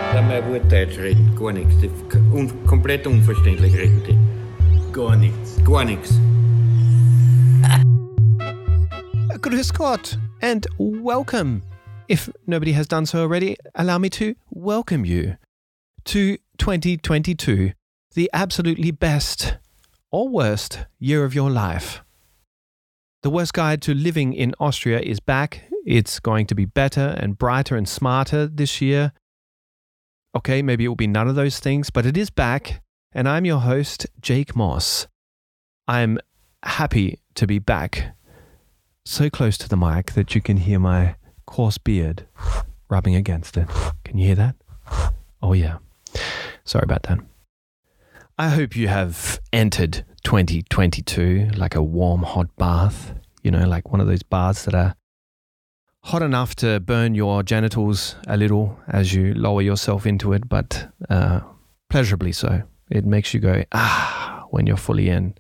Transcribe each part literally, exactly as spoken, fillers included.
Lass mal gut Deutsch reden, gar nichts. Un- komplett unverständlich reden die. Gar nichts. Gar nichts. Grüß Gott and welcome. If nobody has done so already, allow me to welcome you to twenty twenty-two, the absolutely best or worst year of your life. The Worst Guide to Living in Austria is back. It's going to be better and brighter and smarter this year. Okay, maybe it will be none of those things, but it is back. And I'm your host, Jake Moss. I'm happy to be back. So close to the mic that you can hear my coarse beard rubbing against it. Can you hear that? Oh yeah. Sorry about that. I hope you have entered twenty twenty-two like a warm, hot bath. You know, like one of those baths that are hot enough to burn your genitals a little as you lower yourself into it, but uh, pleasurably so. It makes you go, ah, when you're fully in.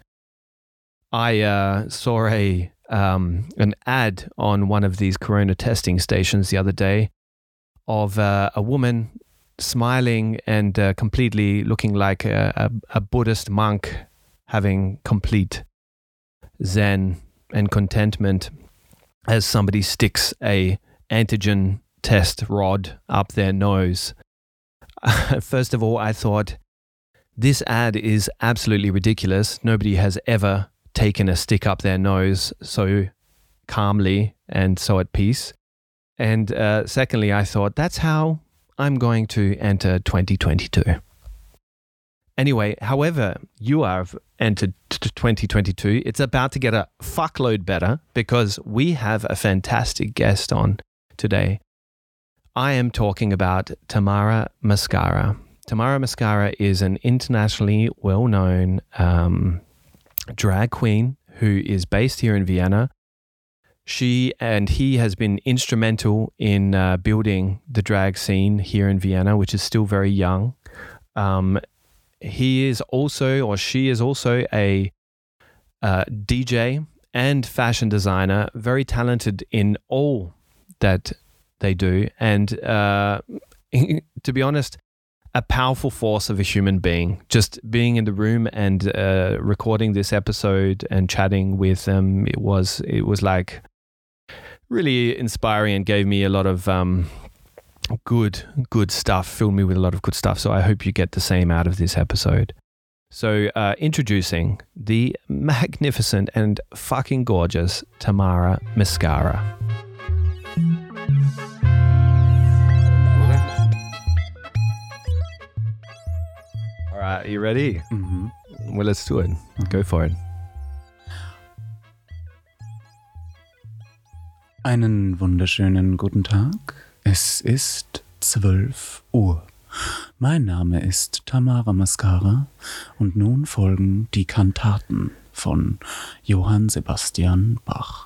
I uh, saw a um, an ad on one of these corona testing stations the other day of uh, a woman smiling and uh, completely looking like a, a, a Buddhist monk having complete zen and contentment as somebody sticks a antigen test rod up their nose. First of all, I thought, this ad is absolutely ridiculous. Nobody has ever taken a stick up their nose so calmly and so at peace. And uh, secondly, I thought, that's how I'm going to enter twenty twenty-two. Anyway, however you have entered twenty twenty-two, it's about to get a fuckload better because we have a fantastic guest on today. I am talking about Tamara Mascara. Tamara Mascara is an internationally well-known um, drag queen who is based here in Vienna. She and he has been instrumental in uh, building the drag scene here in Vienna, which is still very young. Um, he is also, or she is also a uh, D J and fashion designer, very talented in all that they do. And uh, to be honest, a powerful force of a human being. Just being in the room and uh, recording this episode and chatting with them, it was it was like really inspiring and gave me a lot of um, good good stuff, filled me with a lot of good stuff. So I hope you get the same out of this episode. So uh, introducing the magnificent and fucking gorgeous Tamara Mascara. All right, are you ready? Mm-hmm. Well, let's do it. Mm-hmm. Go for it. Einen wunderschönen guten Tag. Es ist zwölf Uhr. Mein Name ist Tamara Mascara und nun folgen die Kantaten von Johann Sebastian Bach.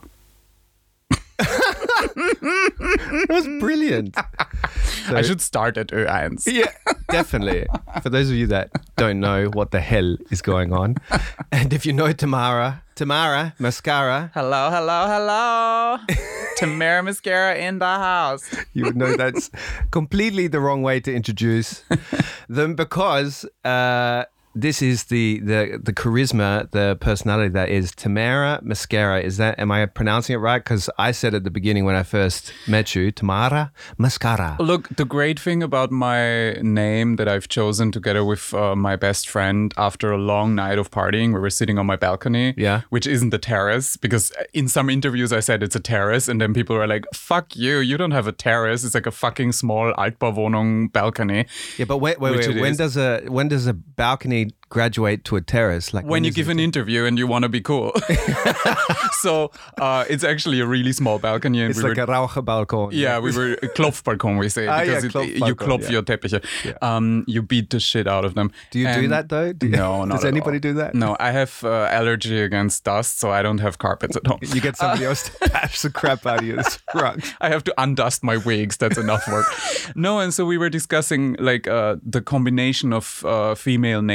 That was brilliant. So, I should start at Ö eins. Yeah, definitely. For those of you that don't know what the hell is going on, and if you know Tamara, Tamara Mascara, Hello, hello, hello. Tamara Mascara in the house. You would know that's completely the wrong way to introduce them because uh, this is the, the the charisma, the personality that is Tamara Mascara. Is that, am I pronouncing it right? Because I said at the beginning when I first met you, Tamara Mascara. Look, the great thing about my name that I've chosen together with uh, my best friend after a long night of partying, where we're sitting on my balcony, yeah, which isn't a terrace, because in some interviews I said it's a terrace, and then people are like, fuck you, you don't have a terrace. It's like a fucking small Altbauwohnung balcony. Yeah, but wait, wait, wait. When is. does a when does a balcony graduate to a terrace? Like when, when you give an interview and you want to be cool. So uh, it's actually a really small balcony. And it's we like were, a Raucherbalkon. Yeah, we were Klopfbalkon, we say. Ah, because yeah, it, Klopfbalkon, you klopf yeah. your Teppiche. Yeah. Um, you beat the shit out of them. Do you and do that though? Do you, no, not Does at anybody all. do that? No, I have uh, allergy against dust, so I don't have carpets at home. You get somebody uh, else to bash the crap out of you. It's wrong. I have to undust my wigs. That's enough work. No, and so we were discussing like uh, the combination of uh, female names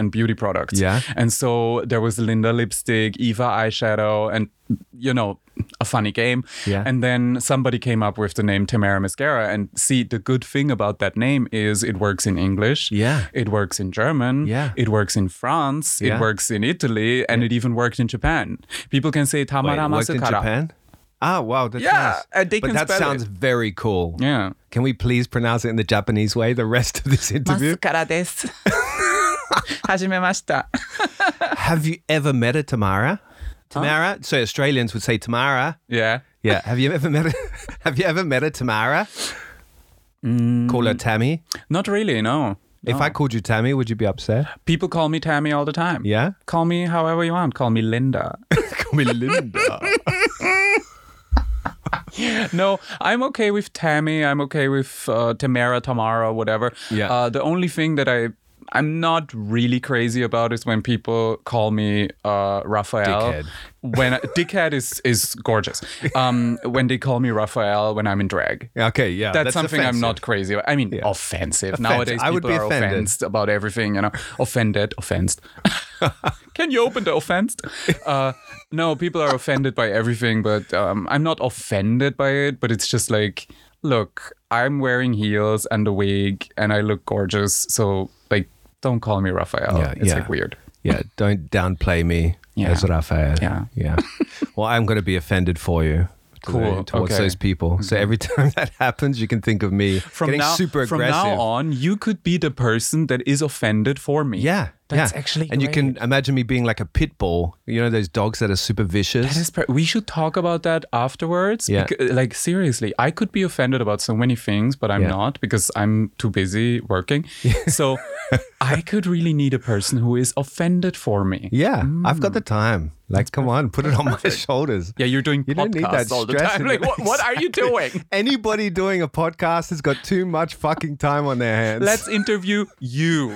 and beauty products. Yeah. And so there was Linda lipstick, Eva eyeshadow, and, you know, a funny game. Yeah. And then somebody came up with the name Tamara Mascara. And see, the good thing about that name is it works in English. Yeah. It works in German. Yeah. It works in France. Yeah. It works in Italy. And it even worked in Japan. People can say Tamara Wait, worked in Mascara. Japan? Ah, wow, that's Yeah, nice. and they but can that spell sounds it. very cool. Yeah. Can we please pronounce it in the Japanese way the rest of this interview? Mascara desu. Hajimemashita. Have you ever met a Tamara? Tamara? So Australians would say Tamara. Yeah. Yeah. Have you ever met a Have you ever met a Tamara? Mm. Call her Tammy. Not really, no. If No. I called you Tammy, would you be upset? People call me Tammy all the time. Yeah? Call me however you want. Call me Linda. Call me Linda. No, I'm okay with Tammy. I'm okay with uh, Tamara, Tamara, whatever. Yeah. Uh, the only thing that I I'm not really crazy about is when people call me uh, Raphael. Dickhead. When dickhead is is gorgeous. Um, when they call me Raphael when I'm in drag. Okay, yeah. That's, something offensive. I'm not crazy about. I mean, Yeah. offensive. Offensive. Nowadays, I would people be are offended. offended about everything, you know. Offended, offensed. Can you open the offensed? Uh, no, people are offended by everything, but um, I'm not offended by it, but it's just like, look, I'm wearing heels and a wig and I look gorgeous, so, like, don't call me Raphael. Yeah, it's, yeah. like, weird. Yeah, don't downplay me Yeah. as Raphael. Yeah. Yeah. Well, I'm going to be offended for you. Cool. Towards Okay. those people. So every time that happens, you can think of me From getting now, super from aggressive. now on, you could be the person that is offended for me. Yeah. That's yeah. actually And you can great. imagine me being like a pit bull. You know, those dogs that are super vicious. That is per- we should talk about that afterwards. Yeah. Becau- like, seriously, I could be offended about so many things, but I'm Yeah. not because I'm too busy working. So I could really need a person who is offended for me. yeah. I've got the time. Like, come on, put it on my shoulders. Yeah, you're doing You don't need podcasts that all the stress time. in Like, your what, what are you doing? Anybody doing a podcast has got too much fucking time on their hands. Let's interview you.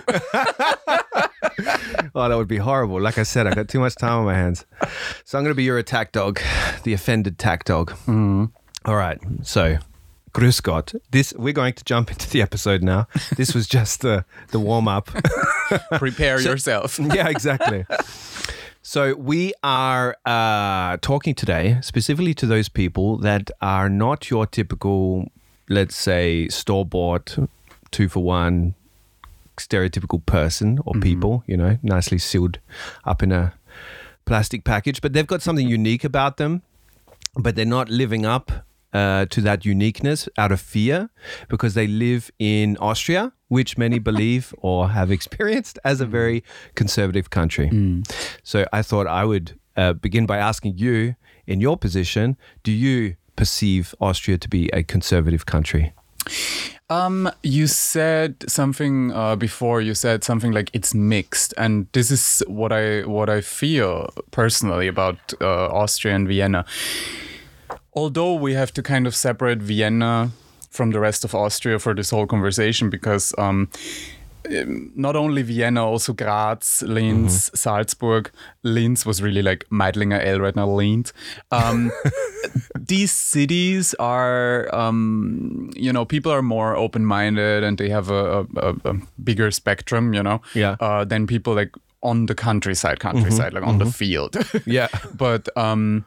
Oh, that would be horrible. Like I said, I got too much time on my hands. So I'm going to be your attack dog, the offended tack dog. Mm. All right. So, grüß Gott. This, we're going to jump into the episode now. This was just the, the warm up. Prepare yourself. Yeah, exactly. So we are uh, talking today specifically to those people that are not your typical, let's say, store-bought, two-for-one, stereotypical person or people, you know, nicely sealed up in a plastic package. But they've got something unique about them, but they're not living up uh, to that uniqueness out of fear because they live in Austria, which many believe or have experienced as a very conservative country. So I thought I would uh, begin by asking you, in your position, do you perceive Austria to be a conservative country? Um, you said something uh, before. You said something like it's mixed, and this is what I what I feel personally about uh, Austria and Vienna. Although we have to kind of separate Vienna from the rest of Austria for this whole conversation, because um, not only Vienna, also Graz, Linz, mm-hmm. Salzburg. Linz was really like Meidlinger L right now, Linz. Um, these cities are, um, you know, people are more open-minded and they have a, a, a bigger spectrum, you know, Yeah. uh, than people like on the countryside, countryside, Mm-hmm. like on the field. Yeah. But um,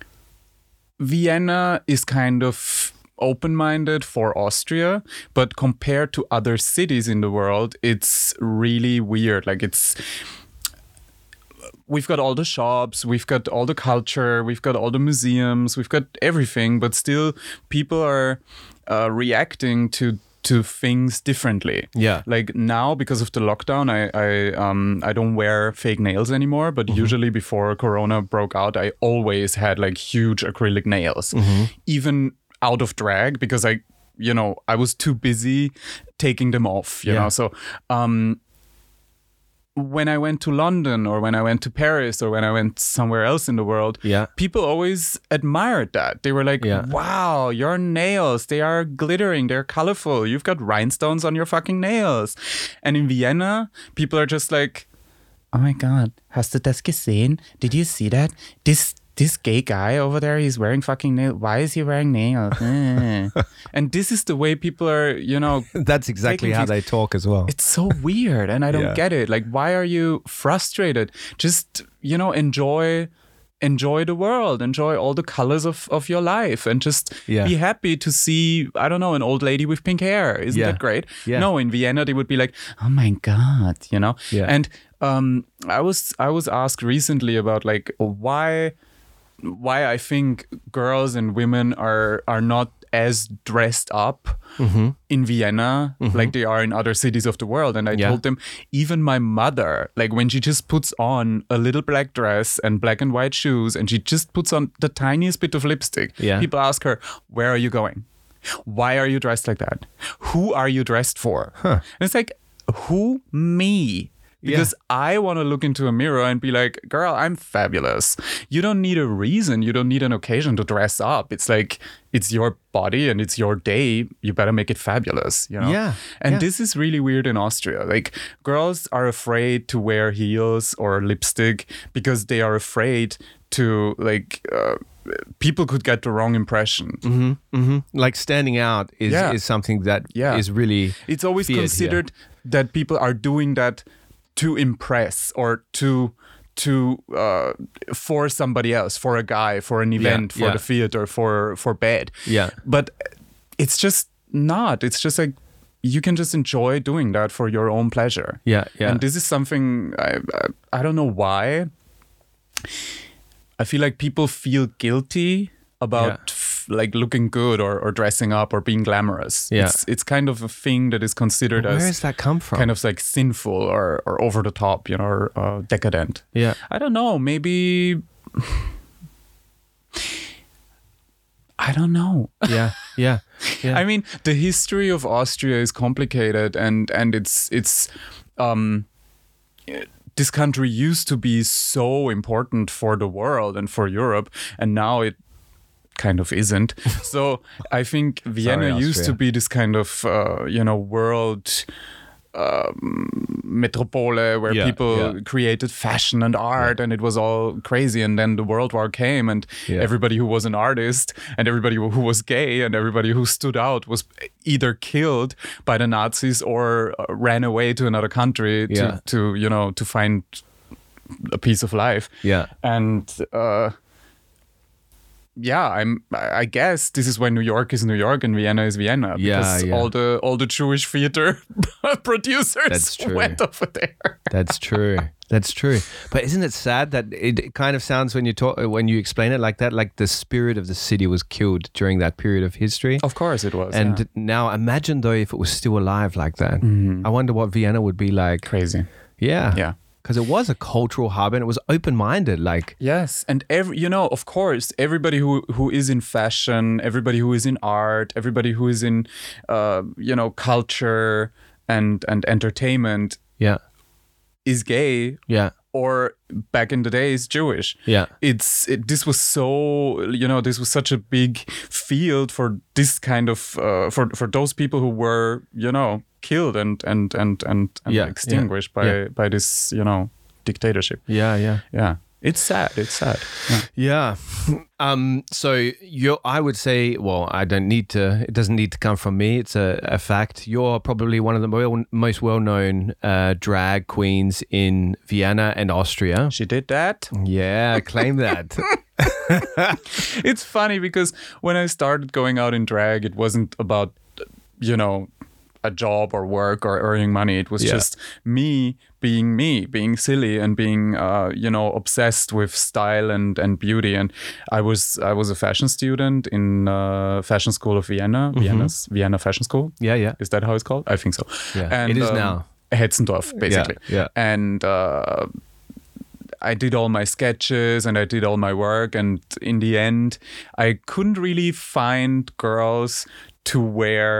Vienna is kind of open-minded for Austria, but compared to other cities in the world, it's really weird. Like it's, we've got all the shops, we've got all the culture, we've got all the museums, we've got everything, but still people are uh, reacting to to things differently. Yeah. Like now, because of the lockdown, I I um I don't wear fake nails anymore. But Mm-hmm. usually before Corona broke out, I always had like huge acrylic nails, Mm-hmm. even out of drag, because I, you know, I was too busy taking them off. You Yeah. know, so um. When I went to London or when I went to Paris or when I went somewhere else in the world, Yeah. people always admired that. They were like, Yeah. wow, your nails, they are glittering, they're colorful. You've got rhinestones on your fucking nails. And in Vienna, people are just like, oh my God, hast du das gesehen? Did you see that? This this gay guy over there, he's wearing fucking nails. Why is he wearing nails? Eh. And this is the way people are, you know. That's exactly how they talk as well. It's so weird, and I don't Yeah. get it. Like, why are you frustrated? Just, you know, enjoy enjoy the world, enjoy all the colors of, of your life, and just Yeah. be happy to see, I don't know, an old lady with pink hair. Isn't Yeah. that great? Yeah. No, in Vienna they would be like, oh my God, you know? Yeah. And um, I was I was asked recently about like why why I think girls and women are are not as dressed up Mm-hmm. in Vienna like they are in other cities of the world. And I Yeah. told them, even my mother, like when she just puts on a little black dress and black and white shoes and she just puts on the tiniest bit of lipstick, Yeah. people ask her, where are you going? Why are you dressed like that? Who are you dressed for? And it's like, who? Me. Because I want to look into a mirror and be like, girl, I'm fabulous. You don't need a reason. You don't need an occasion to dress up. It's like, it's your body and it's your day. You better make it fabulous, you know? Yeah, And yeah. this is really weird in Austria. Like, girls are afraid to wear heels or lipstick because they are afraid to, like, uh, people could get the wrong impression. Mm-hmm. Mm-hmm. Like standing out is, Yeah. is something that is Yeah. really It's always feared here. considered that people are doing that to impress or to to uh, for somebody else, for a guy, for an event, for yeah. the theater, for for bed. Yeah. But it's just not. It's just like you can just enjoy doing that for your own pleasure. Yeah, yeah. And this is something I I, I don't know why. I feel like people feel guilty about Yeah. f- like looking good or, or dressing up or being glamorous. Yeah. It's it's kind of a thing that is considered Where as does that come from? kind of like sinful or, or over the top, you know, or uh, decadent. Yeah. I don't know. Maybe. I don't know. Yeah, yeah, yeah. I mean, the history of Austria is complicated, and and it's it's um, this country used to be so important for the world and for Europe, and now it kind of isn't. So I think Vienna Sorry, used to Austria. be this kind of uh, you know world um, metropole where Yeah, people yeah. created fashion and art, and it was all crazy. And then the World War came, and Yeah. everybody who was an artist and everybody who was gay and everybody who stood out was either killed by the Nazis or uh, ran away to another country to, Yeah. to you know to find a piece of life. Yeah. And uh, yeah, I'm. I guess this is why New York is New York and Vienna is Vienna, Yeah, because yeah. all the all the Jewish theater producers That's true. went over there. That's true. That's true. But isn't it sad that it it kind of sounds when you talk when you explain it like that, like the spirit of the city was killed during that period of history? Of course, it was. And yeah. now imagine though if it was still alive like that. I wonder what Vienna would be like. crazy. Yeah. Yeah. Because it was a cultural hub and it was open-minded. Like, Yes, and every you know, of course, everybody who who is in fashion, everybody who is in art, everybody who is in, uh, you know, culture and and entertainment yeah, is gay, yeah, or back in the day is Jewish. yeah, It's it, this was so you know this was such a big field for this kind of uh, for for those people who were you know killed and and and and, and Yeah, extinguished yeah, by yeah. by this you know dictatorship. yeah, yeah. Yeah, it's sad. It's sad. Yeah. Yeah. Um, so you're, I would say, well, I don't need to, it doesn't need to come from me. It's a, a fact. You're probably one of the well, most well-known uh, drag queens in Vienna and Austria. She did that. Yeah, claim that. It's funny because when I started going out in drag, it wasn't about, you know, a job or work or earning money. It was Yeah. just me being me, being silly and being, uh, you know, obsessed with style and, and beauty. And I was I was a fashion student in uh, Fashion School of Vienna, Vienna's Vienna Fashion School. Yeah, yeah. Is that how it's called? I think so. Yeah, it is now. Hetzendorf, basically. yeah. And uh, I did all my sketches and I did all my work. And in the end, I couldn't really find girls to wear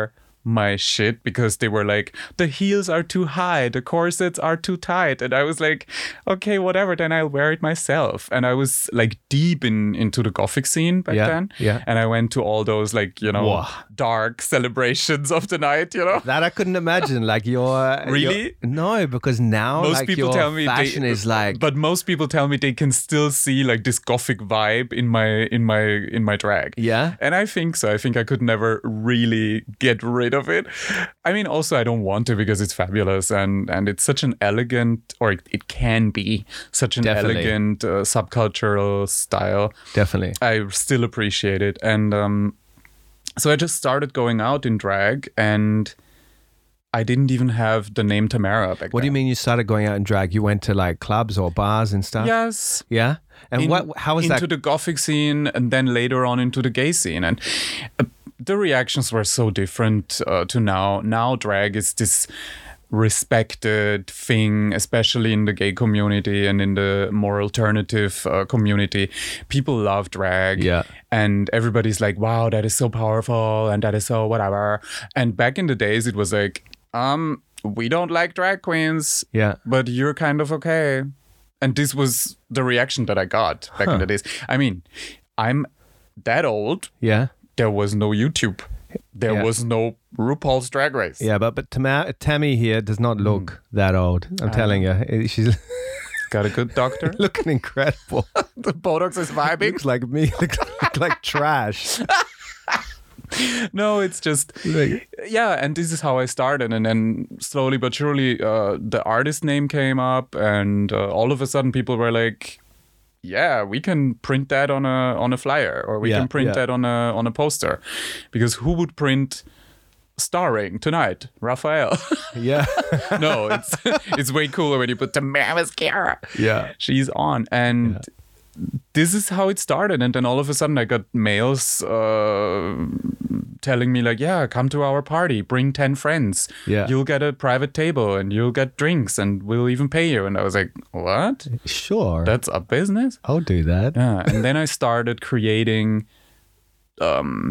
my shit because they were like, the heels are too high, the corsets are too tight. And I was like, okay, whatever, then I'll wear it myself. And I was like deep in into the Gothic scene back Yeah, then. yeah. And I went to all those like, you know, Whoa. dark celebrations of the night, you know. That I couldn't imagine. Like your Really? your- no, because now Most like people your tell me fashion they, is like but most people tell me they can still see like this Gothic vibe in my in my in my drag. yeah. And I think so. I think I could never really get rid of it. I mean, also I don't want to because it's fabulous and and it's such an elegant, or it, it can be such an Definitely. elegant uh, subcultural style. Definitely. I still appreciate it. And um, so I just started going out in drag, and I didn't even have the name Tamara back What do you then. mean you started going out in drag? You went to like clubs or bars and stuff? Yes. Yeah. And in- what? How was into that? the Gothic scene, and then later on into the gay scene, and uh, the reactions were so different uh, to now. Now drag is this respected thing, especially in the gay community and in the more alternative uh, community. People love drag, Yeah. and everybody's like, wow, that is so powerful and that is so whatever. And back in the days it was like, um we don't like drag queens, Yeah. but you're kind of okay. And this was the reaction that I got back in the days. I mean, I'm that old. Yeah. There was no YouTube. There Yeah. was no RuPaul's Drag Race. Yeah, but but Tama- Tammy here does not look that old. I'm telling you, she's Got a good doctor. looking incredible. The Botox is vibing. Looks like me. Looks like, like trash. No, it's just Like- yeah. And this is how I started, and then slowly but surely, uh, the artist name came up, and uh, all of a sudden, people were like, "Yeah, we can print that on a on a flyer, or we Yeah, can print yeah. that on a on a poster," because who would print starring tonight, Raphael? Yeah. No, it's it's way cooler when you put Tamara Mascara. Yeah. She's on, and this is how it started. And then all of a sudden I got mails uh, telling me like, yeah, come to our party, bring ten friends, Yeah. you'll get a private table and you'll get drinks and we'll even pay you. And I was like, what? Sure. That's a business? I'll do that. Yeah. And then I started creating um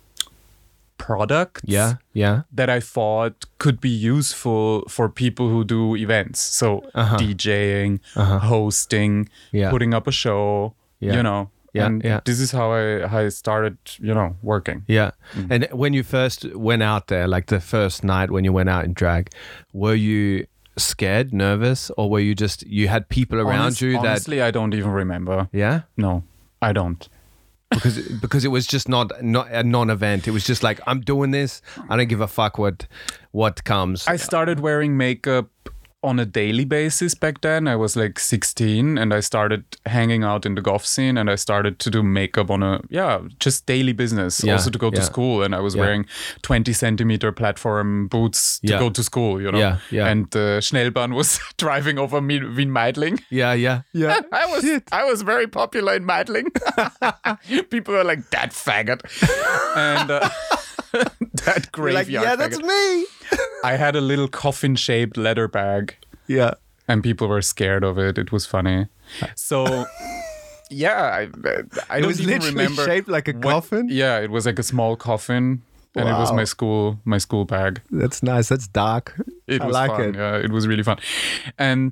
products Yeah. Yeah. that I thought could be useful for people who do events. So Uh-huh. DJing, Uh-huh. hosting, Yeah. putting up a show, Yeah. you know. Yeah, And yeah. this is how I how I started, you know, working. Yeah. And when you first went out there, like the first night when you went out in drag, were you scared, nervous, or were you just, you had people around Honest- you that, honestly, I don't even remember. yeah? No, I don't. Because because it was just not not a non-event. It was just like, I'm doing this. I don't give a fuck what what comes. I started wearing makeup on a daily basis back then. I was like sixteen, and I started hanging out in the goth scene, and I started to do makeup on a yeah just daily business. Yeah, Also to go to yeah. school, and I was Yeah. wearing twenty centimeter platform boots to Yeah. go to school. You know, Yeah, yeah. And uh, Schnellbahn was driving over me Wien Meidling. yeah, yeah, yeah. I was Shit. I was very popular in Meidling. People were like, that faggot, and uh, that You're graveyard. like, yeah, that's faggot. me. I had a little coffin-shaped leather bag, Yeah. and people were scared of it. It was funny. So, yeah, I, I It don't was even literally remember shaped like a what- coffin? Yeah, it was like a small coffin, and it was Wow. my school my school bag. That's nice. That's dark. It I was like fun. it. Yeah, it was really fun, and.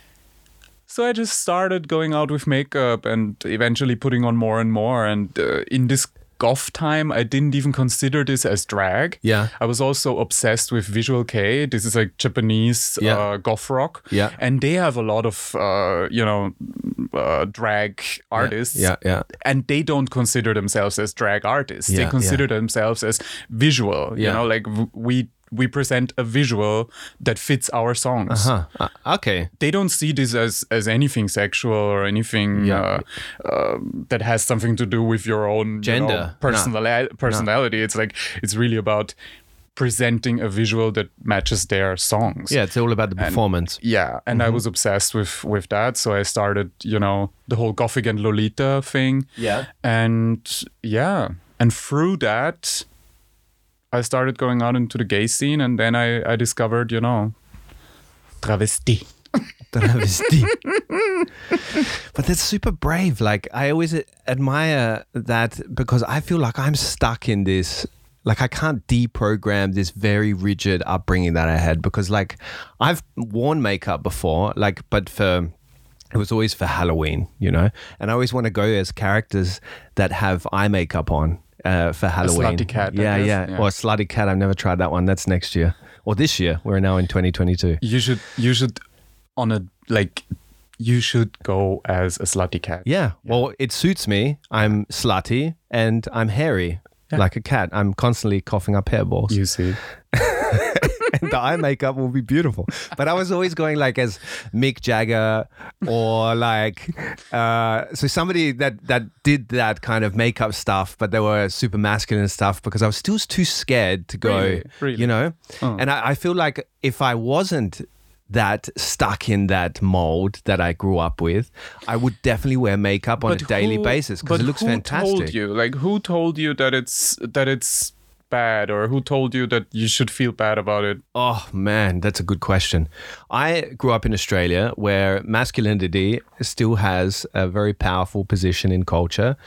So I just started going out with makeup and eventually putting on more and more. And uh, in this goth time, I didn't even consider this as drag. Yeah. I was also obsessed with Visual K. This is like Japanese Yeah. uh, goth rock. Yeah. And they have a lot of, uh, you know, uh, drag artists. Yeah, yeah. And they don't consider themselves as drag artists. Yeah, they consider yeah. themselves as visual. You Yeah. know, like w- we we present a visual that fits our songs. Huh. Uh, okay. They don't see this as, as anything sexual or anything Yeah. uh, um, that has something to do with your own Gender. you know, personali- personality. It's like it's really about presenting a visual that matches their songs. Yeah, it's all about the performance. Yeah, and Mm-hmm. I was obsessed with with that, so I started, you know, the whole Gothic and Lolita thing. Yeah. And yeah, and through that, I started going out into the gay scene, and then I, I discovered, you know, travesti. Travesti. But that's super brave. Like, I always admire that because I feel like I'm stuck in this Like I can't deprogram this very rigid upbringing that I had, because like I've worn makeup before, like, but for, it was always for Halloween, you know, and I always want to go as characters that have eye makeup on uh, for Halloween. A slutty cat. Yeah, yeah, yeah. Or a slutty cat. I've never tried that one. That's next year or this year. We're now in twenty twenty-two. You should, you should on a, like, you should go as a slutty cat. Yeah. Well, it suits me. I'm slutty and I'm hairy. Yeah. Like a cat. I'm constantly coughing up hairballs. You see. And the eye makeup will be beautiful. But I was always going like as Mick Jagger or like, uh, so somebody that, that did that kind of makeup stuff, but they were super masculine stuff, because I was still too scared to go, Really? Really? you know? Oh. And I, I feel like if I wasn't that stuck in that mold that I grew up with, I would definitely wear makeup on But a daily who- basis, because but it looks who fantastic. told you? Like, who told you that it's that it's bad, or who told you that you should feel bad about it? Oh man, that's a good question. I grew up in Australia, where masculinity still has a very powerful position in culture.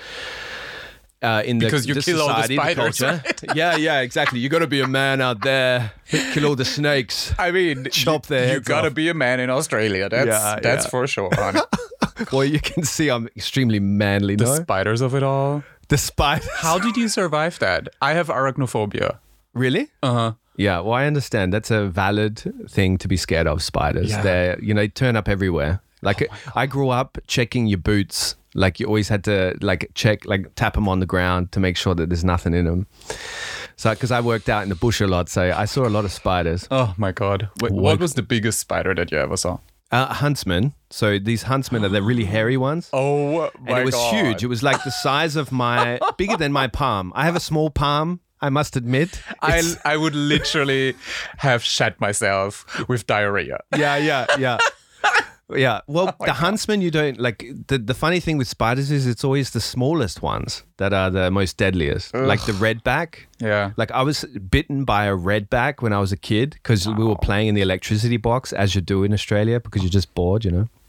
Uh, in Because the, you the kill all the society, spiders, culture. Yeah, yeah, exactly. You got to be a man out there, kill all the snakes. I mean, Chop you, their you heads gotta off. be a man in Australia. That's Yeah, that's yeah. for sure, honey. Well, you can see I'm extremely manly. The No, spiders of it all. the spiders. How did you survive that? I have arachnophobia. Really? Uh huh. Yeah. Well, I understand. That's a valid thing to be scared of. Spiders. Yeah. They, you know, they turn up everywhere. Like I grew up checking your boots. Like you always had to like check, like tap them on the ground to make sure that there's nothing in them. So, because I worked out in the bush a lot, so I saw a lot of spiders. Oh my god. Wait, what What? was the biggest spider that you ever saw? Uh, huntsmen. So these huntsmen are the really hairy ones. Oh my And it was god. huge. It was like the size of my, bigger than my palm. I have a small palm, I must admit. I It's- I would literally have shat myself with diarrhea. yeah, yeah, yeah. Yeah. Well, Oh the huntsman, you don't like. The, the funny thing with spiders is it's always the smallest ones that are the most deadliest. Like the redback. Yeah. Like I was bitten by a redback when I was a kid, because we were playing in the electricity box, as you do in Australia, because you're just bored, you know.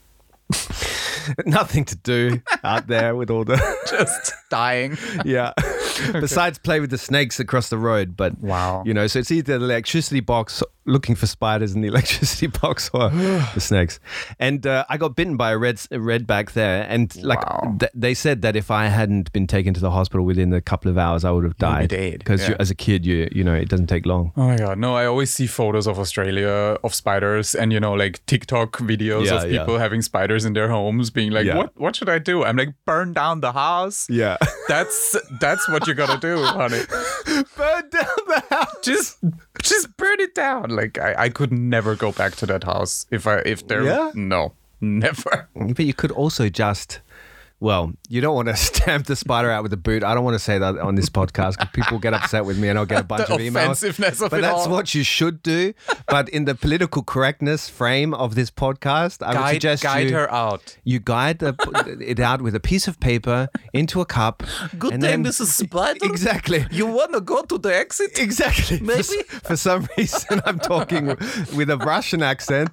Nothing to do out there with all the Just dying. yeah. Besides play with the snakes across the road, but Wow. you know, so it's either the electricity box looking for spiders in the electricity box or the snakes. And uh, I got bitten by a red a redback there, and like Wow. th- they said that if I hadn't been taken to the hospital within a couple of hours, I would have would be died. dead, Because yeah. as a kid, you you know, it doesn't take long. Oh my god, no, I always see photos of Australia of spiders and, you know, like TikTok videos Yeah, of yeah. people having spiders in their homes being like, Yeah. what what should I do? I'm like, burn down the house. Yeah. That's that's what you gotta do, honey. Burn down the house. Just just burn it down. Like I, I could never go back to that house if I if there Yeah? no. Never. But you could also just, well, you don't want to stamp the spider out with a boot. I don't want to say that on this podcast, because people get upset with me and I'll get a bunch The of emails. offensiveness of But it that's all. what you should do. But in the political correctness frame of this podcast, I would Guide, suggest guide you, her out. you guide the, it out with a piece of paper into a cup. Good and day, then- Missus Spider. Exactly. You wanna go to the exit? Exactly. For, Maybe. s- for some reason, I'm talking with a Russian accent.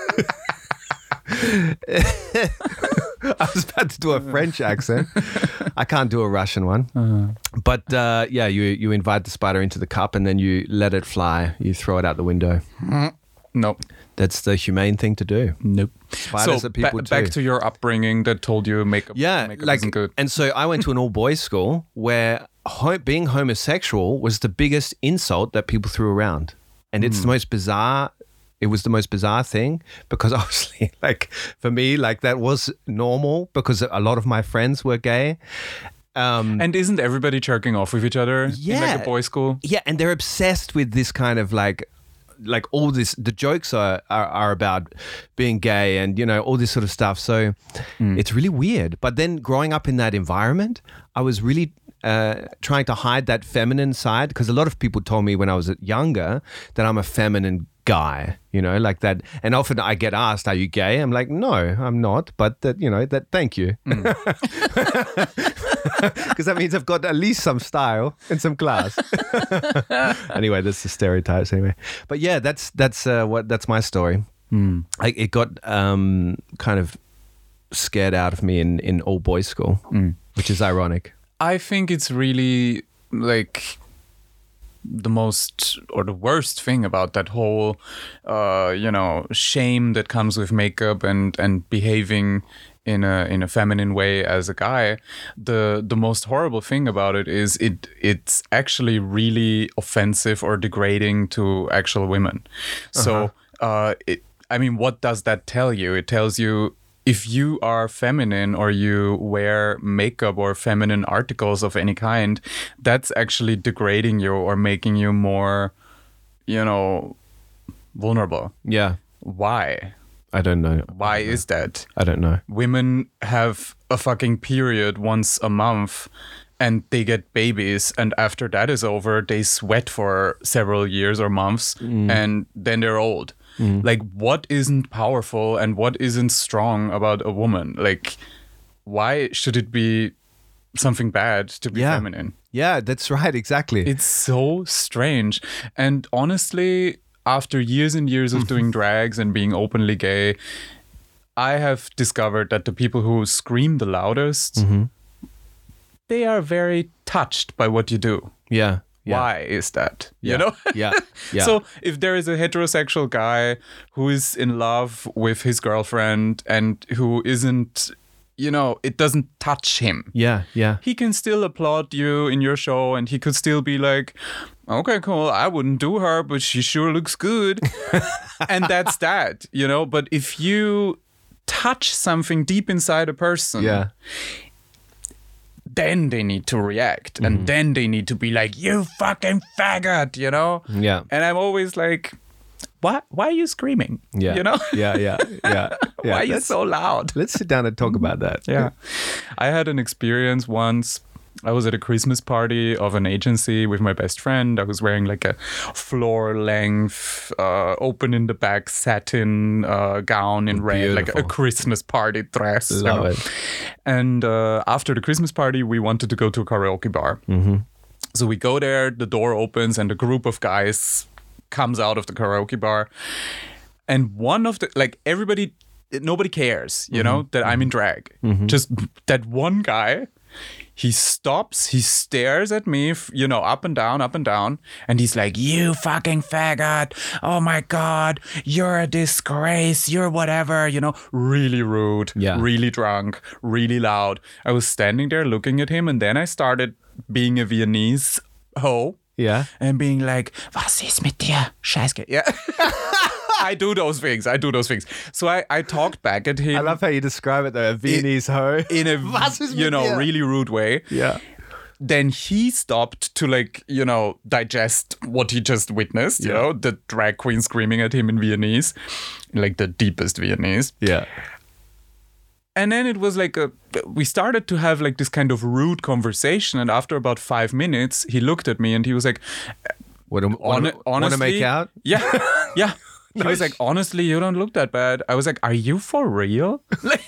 I was about to do a French accent. I can't do a Russian one. Uh-huh. But uh, yeah, you you invite the spider into the cup and then you let it fly. You throw it out the window. Nope. That's the humane thing to do. Nope. Spiders so are people ba- back too. to your upbringing that told you makeup. Yeah, makeup like, isn't good. and so I went to an all boys school where ho- being homosexual was the biggest insult that people threw around, and it's Hmm. the most bizarre. It was the most bizarre thing, because obviously, like for me, like that was normal because a lot of my friends were gay. Um, And isn't everybody jerking off with each other in like Yeah. a boys' school? yeah, and they're obsessed with this kind of like. Like all this, the jokes are, are are about being gay and, you know, all this sort of stuff. So it's really weird. But then growing up in that environment, I was really uh, trying to hide that feminine side, because a lot of people told me when I was younger that I'm a feminine guy, you know, like that. And often I get asked, "Are you gay?" I'm like, "No, I'm not." But that, you know, that. Thank you, because that means I've got at least some style and some class. Anyway, that's the stereotypes. Anyway, but yeah, that's that's uh, what that's my story. I, it got um, kind of scared out of me in in all boys school, which is ironic. I think it's really like the most or the worst thing about that whole, uh, you know, shame that comes with makeup and, and behaving in a in a feminine way as a guy. The the most horrible thing about it is it it's actually really offensive or degrading to actual women. Uh-huh. So, uh, it, I mean, what does that tell you? It tells you if you are feminine or you wear makeup or feminine articles of any kind, that's actually degrading you or making you more, you know, vulnerable. Yeah. Why? I don't know. Why don't know. is that? I don't know. Women have a fucking period once a month and they get babies, and after that is over, they sweat for several years or months mm. and then they're old. Mm. Like, what isn't powerful and what isn't strong about a woman? Like, why should it be something bad to be yeah. feminine? Yeah, that's right. Exactly. It's so strange. And honestly, after years and years of doing drags and being openly gay, I have discovered that the people who scream the loudest, mm-hmm. they are very touched by what you do. Yeah. Yeah. Why is that? Yeah. You know? Yeah. Yeah. So if there is a heterosexual guy who is in love with his girlfriend and who isn't, you know, it doesn't touch him. Yeah. Yeah. He can still applaud you in your show and he could still be like, okay, cool, I wouldn't do her, but she sure looks good. And that's that, you know? But if you touch something deep inside a person, yeah. then they need to react. Mm-hmm. And then they need to be like, you fucking faggot, you know? Yeah. And I'm always like, why, why are you screaming? Yeah. You know? Yeah, yeah, yeah. Why yeah. are you let's, so loud? Let's sit down and talk about that. Yeah. I had an experience once. I was at a Christmas party of an agency with my best friend. I was wearing like a floor length, uh, open in the back satin uh, gown in red, Beautiful. like a Christmas party dress. Love you know? it. And uh, after the Christmas party, we wanted to go to a karaoke bar. Mm-hmm. So we go there, the door opens and a group of guys comes out of the karaoke bar. And one of the, like everybody, nobody cares, you mm-hmm. know, that I'm in drag. Mm-hmm. Just that one guy. He stops, he stares at me, you know, up and down, up and down. And he's like, you fucking faggot. Oh my God, you're a disgrace. You're whatever, you know, really rude, yeah. really drunk, really loud. I was standing there looking at him. And then I started being a Viennese hoe. Yeah. And being like, was ist mit dir? Scheiße. Yeah. I do those things. I do those things. So I, I talked back at him. I love how you describe it though, a Viennese hoe. In a, you know, dir? really rude way. Yeah. Then he stopped to like, you know, digest what he just witnessed, yeah. you know, the drag queen screaming at him in Viennese, like the deepest Viennese. Yeah. And then it was like, a, we started to have like this kind of rude conversation. And after about five minutes, he looked at me and he was like, what, am, on, honestly, want to make out? Yeah. Yeah. He No, was like, honestly, you don't look that bad. I was like, are you for real?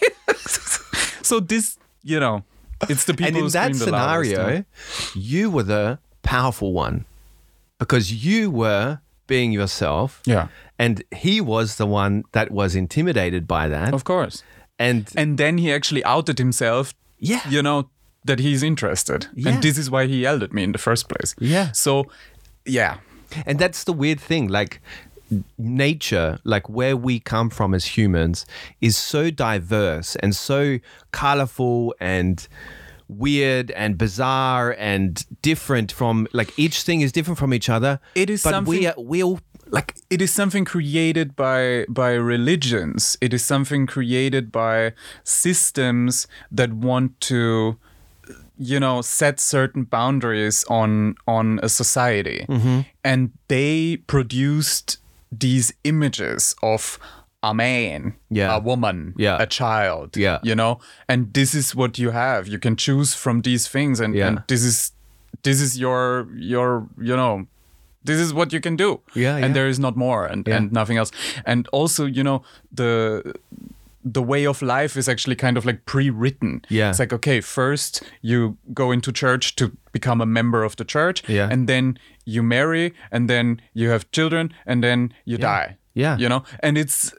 So this, you know, it's the people and in who that scream the scenario, loudest, you were the powerful one because you were being yourself. Yeah. And he was the one that was intimidated by that. Of course. And and then he actually outed himself. Yeah. You know, that he's interested. Yeah. And this is why he yelled at me in the first place. Yeah. So, yeah. And that's the weird thing. Like, nature, like where we come from as humans, is so diverse and so colorful and weird and bizarre and different from, like, each thing is different from each other. It is but something, we are, we all, like, it is something created by by religions. It is something created by systems that want to, you know, set certain boundaries on on a society. Mm-hmm. And they produced these images of a man, yeah. a woman, yeah. a child, yeah. you know, and this is what you have. You can choose from these things, and, yeah. and this is this is your your you know, this is what you can do. Yeah, and yeah. there is not more, and, yeah. and nothing else. And also, you know, the the way of life is actually kind of like pre-written. Yeah. It's like, okay, first you go into church to become a member of the church, yeah. and then you marry, and then you have children, and then you yeah. die. Yeah. You know, and it's,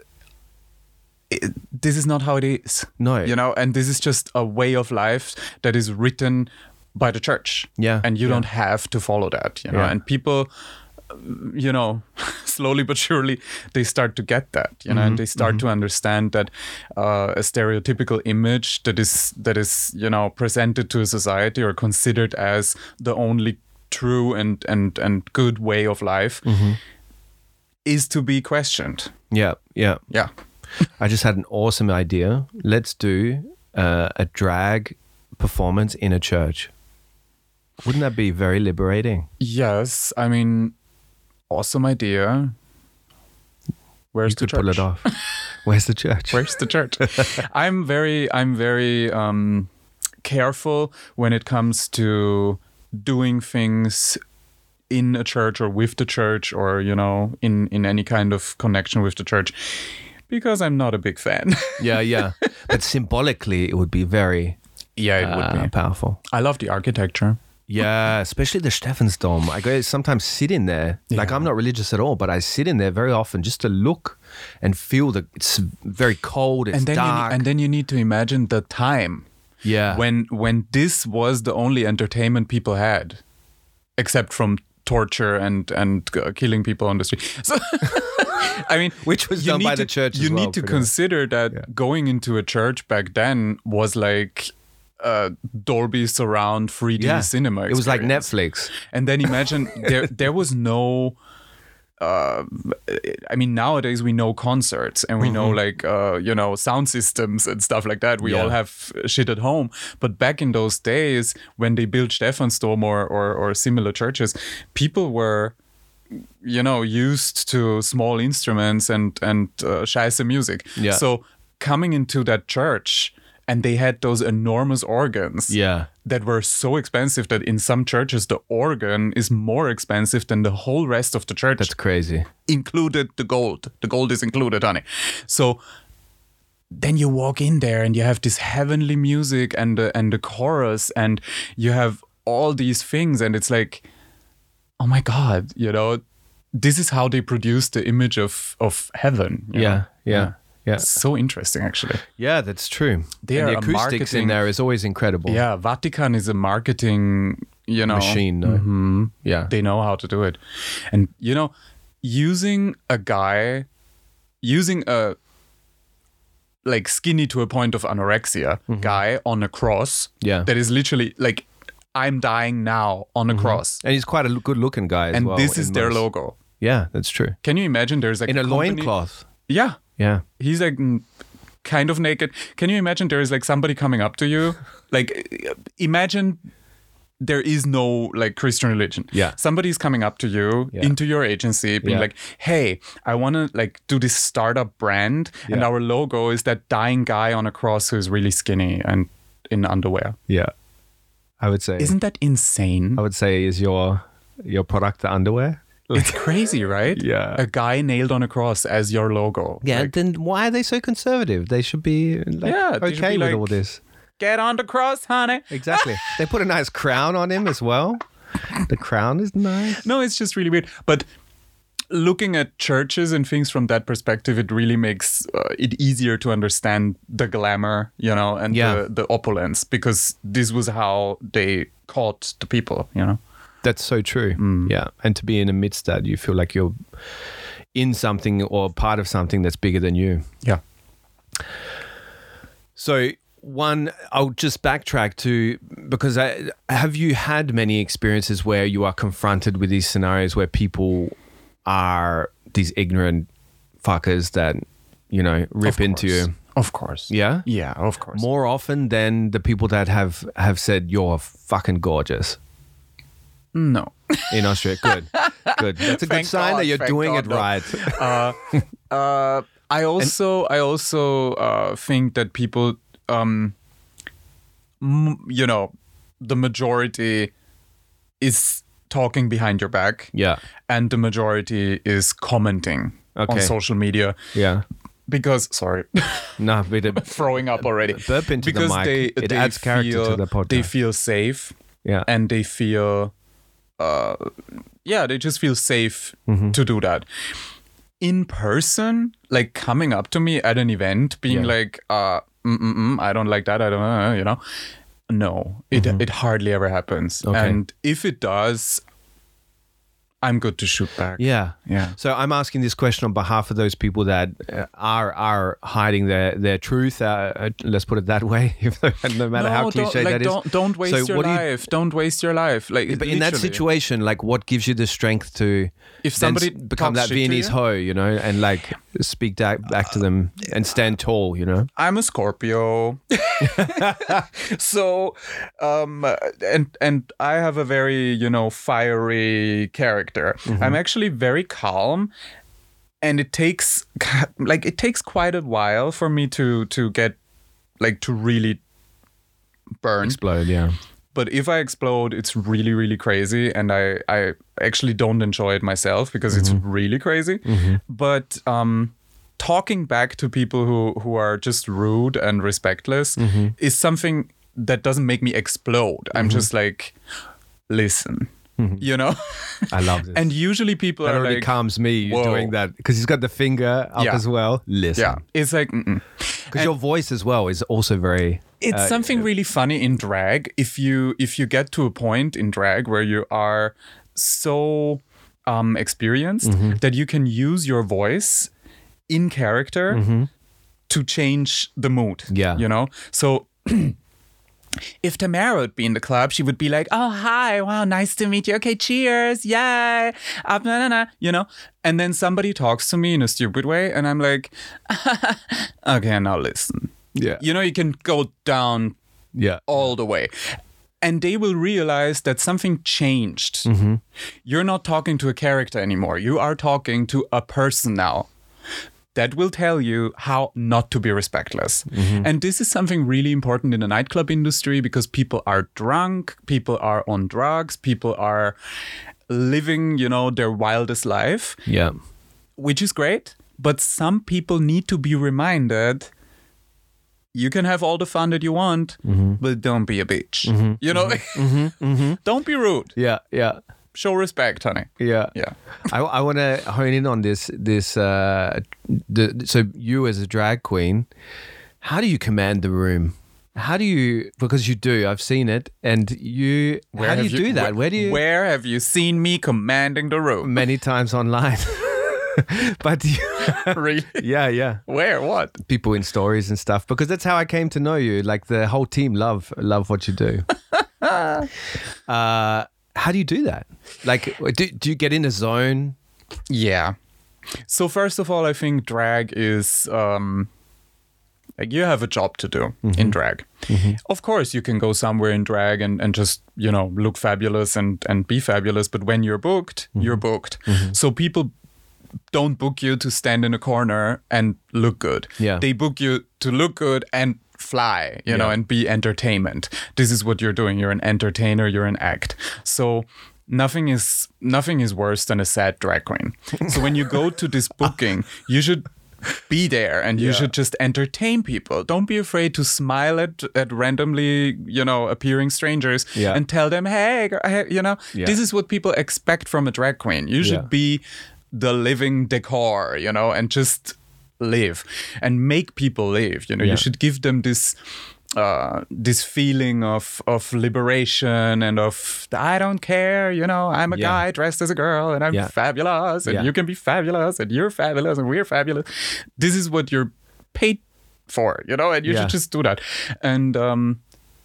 it, this is not how it is. No. You know, and this is just a way of life that is written by the church. Yeah. And you yeah. don't have to follow that, you know. Yeah. And people, you know, slowly but surely, they start to get that, you know, Mm-hmm. and they start mm-hmm. to understand that uh, a stereotypical image that is, that is, you know, presented to a society or considered as the only true and, and, and good way of life mm-hmm. is to be questioned. Yeah, yeah. Yeah. I just had an awesome idea. Let's do uh, a drag performance in a church. Wouldn't that be very liberating? Yes. I mean, awesome idea. Where's You the could church? pull it off. Where's the church? Where's the church? I'm very, I'm very um, careful when it comes to doing things in a church or with the church or, you know, in, in any kind of connection with the church, because I'm not a big fan. Yeah, yeah. But symbolically, it would be very Yeah, it uh, would be. powerful. I love the architecture. Yeah, especially the Stephansdom. I go sometimes sit in there. Like Yeah. I'm not religious at all, but I sit in there very often just to look and feel that it's very cold, it's And then, you, dark. ne- and then you need to imagine the time yeah. when when this was the only entertainment people had, except from torture and and uh, killing people on the street. So, I mean, Which was you done need by to, the church as You well, need to pretty much. consider that Yeah. going into a church back then was like uh, Dolby Surround three D yeah. cinema. It was like experience. Netflix. And then imagine there there was no. Uh, I mean, nowadays we know concerts and we know like uh, you know sound systems and stuff like that. We Yeah. all have shit at home. But back in those days, when they built Stephansdom or, or or similar churches, people were, you know, used to small instruments and and uh, scheiße music. Yeah. So coming into that church, and they had those enormous organs Yeah. that were so expensive that in some churches the organ is more expensive than the whole rest of the church, That's crazy. included the gold. The gold is included, honey. So then you walk in there and you have this heavenly music and the, and the chorus and you have all these things and it's like, oh my God, you know, this is how they produce the image of, of heaven. you Yeah, know? yeah, yeah. It's so interesting, actually. Yeah, that's true. They and are the a acoustics in marketing- there is always incredible. Yeah, Vatican is a marketing, you know, Machine, no? hmm Yeah. They know how to do it. And, you know, using a guy, using a like skinny to a point of anorexia guy on a cross Mm-hmm. Yeah. that is literally like, I'm dying now on a cross. And he's quite a good looking guy as And well. this is in their most- logo. Yeah, that's true. Can you imagine there's like In a company- loincloth. Yeah. Yeah. He's like mm, kind of naked. Can you imagine there is like somebody coming up to you? Like, imagine there is no like Christian religion. Yeah. Somebody's coming up to you Yeah. into your agency being Yeah. like, hey, I want to like do this startup brand. And Yeah. our logo is that dying guy on a cross who's really skinny and in underwear. Yeah. I would say. Isn't that insane? I would say is your your product the underwear? It's crazy, right? Yeah. A guy nailed on a cross as your logo. Yeah, Like, then why are they so conservative? They should be like, Yeah, they should okay be with like- all this. get on the cross, honey. Exactly. They put a nice crown on him as well. The crown is nice. No, it's just really weird. But looking at churches and things from that perspective, it really makes uh, it easier to understand the glamour, you know, and Yeah. the, the opulence, because this was how they caught the people, you know. That's so true. Mm. Yeah. And to be in amidst that, you feel like you're in something or part of something that's bigger than you. Yeah. So one, I'll just backtrack to, because I, have you had many experiences where you are confronted with these scenarios where people are these ignorant fuckers that, you know, rip Of into course. you? Of course. Yeah? Yeah, of course. More often than the people that have, have said, you're fucking gorgeous No. in Australia. Good. Good. That's a good Thank sign God, that you're thank doing God, it no. right. uh, uh, I also I also uh, think that people, um, m- you know, the majority is talking behind your back. Yeah. And the majority is commenting on Okay. social media Yeah. because, sorry, No, but it, throwing up already. burp into the because mic. They, It they adds character feel, to the podcast. They feel safe yeah. and they feel, uh, yeah, they just feel safe Mm-hmm. to do that. In person, like coming up to me at an event, being Yeah. like, uh, mm-mm-mm, I don't like that, I don't know, you know. no, it mm-hmm. it hardly ever happens. Okay. And if it does, I'm good to shoot back. Yeah, yeah. So I'm asking this question on behalf of those people that uh, are are hiding their their truth. Uh, let's put it that way. If no matter no, how cliche like, that don't, is. Don't waste so your do life. You, don't waste your life. Like, but literally. in that situation, like, what gives you the strength to if somebody become that Viennese hoe, you know, and like speak back back to them and stand tall, you know? I'm a Scorpio, so um, and and I have a very you know fiery character. Mm-hmm. I'm actually very calm, and it takes like it takes quite a while for me to to get like to really burn, explode, yeah. But if I explode, it's really, really crazy. And I, I actually don't enjoy it myself because mm-hmm. it's really crazy. Mm-hmm. But um, talking back to people who, who are just rude and respectless mm-hmm. is something that doesn't make me explode. Mm-hmm. I'm just like, listen, mm-hmm. you know? I love this. And usually people that are already like, calms me whoa. doing that because he's got the finger up yeah. as well. Listen. Yeah. It's like, because your voice as well is also very... It's uh, something really funny in drag. If you if you get to a point in drag where you are so um, experienced mm-hmm. that you can use your voice in character mm-hmm. to change the mood. Yeah. You know? So if Tamara would be in the club, she would be like, oh, hi, wow, nice to meet you. Okay, cheers, yay, up, na, na, na, you know? And then somebody talks to me in a stupid way and I'm like, okay, now listen. Yeah. You know, you can go down yeah. all the way. And they will realize that something changed. Mm-hmm. You're not talking to a character anymore. You are talking to a person now. That will tell you how not to be respectless. Mm-hmm. And this is something really important in the nightclub industry because people are drunk, people are on drugs, people are living, you know, their wildest life. Yeah. Which is great. But some people need to be reminded you can have all the fun that you want, mm-hmm. but don't be a bitch. Mm-hmm. You know? Mm-hmm. Mm-hmm. Don't be rude. Yeah, yeah. Show respect, honey. Yeah, yeah. I, I want to hone in on this. This uh, the, so you as a drag queen, how do you command the room? How do you? Because you do. I've seen it, and you. Where how do you, you do that? Where, where do you? Where have you seen me commanding the room? Many times online. But you, really? Yeah, yeah. Where? What? People in stories and stuff. Because that's how I came to know you. Like the whole team love love what you do. uh, how do you do that? Like, do, do you get in a zone? Yeah. So first of all, I think drag is um, like you have a job to do mm-hmm. in drag. Mm-hmm. Of course, you can go somewhere in drag and, and just, you know, look fabulous and, and be fabulous. But when you're booked, mm-hmm. you're booked. Mm-hmm. So people don't book you to stand in a corner and look good. Yeah. They book you to look good and fly, you yeah. know, and be entertainment. This is what you're doing. You're an entertainer, you're an act. So nothing is nothing is worse than a sad drag queen. So when you go to this booking, you should be there and you yeah. should just entertain people. Don't be afraid to smile at, at randomly, you know, appearing strangers yeah. and tell them, hey, you know, yeah. this is what people expect from a drag queen. You should yeah. be the living decor, you know, and just live and make people live. You know, yeah. you should give them this uh, this feeling of of liberation and of I don't care, you know, I'm a yeah. guy dressed as a girl and I'm yeah. fabulous and yeah. you can be fabulous and you're fabulous and we're fabulous. This is what you're paid for, you know, and you yeah. should just do that. And um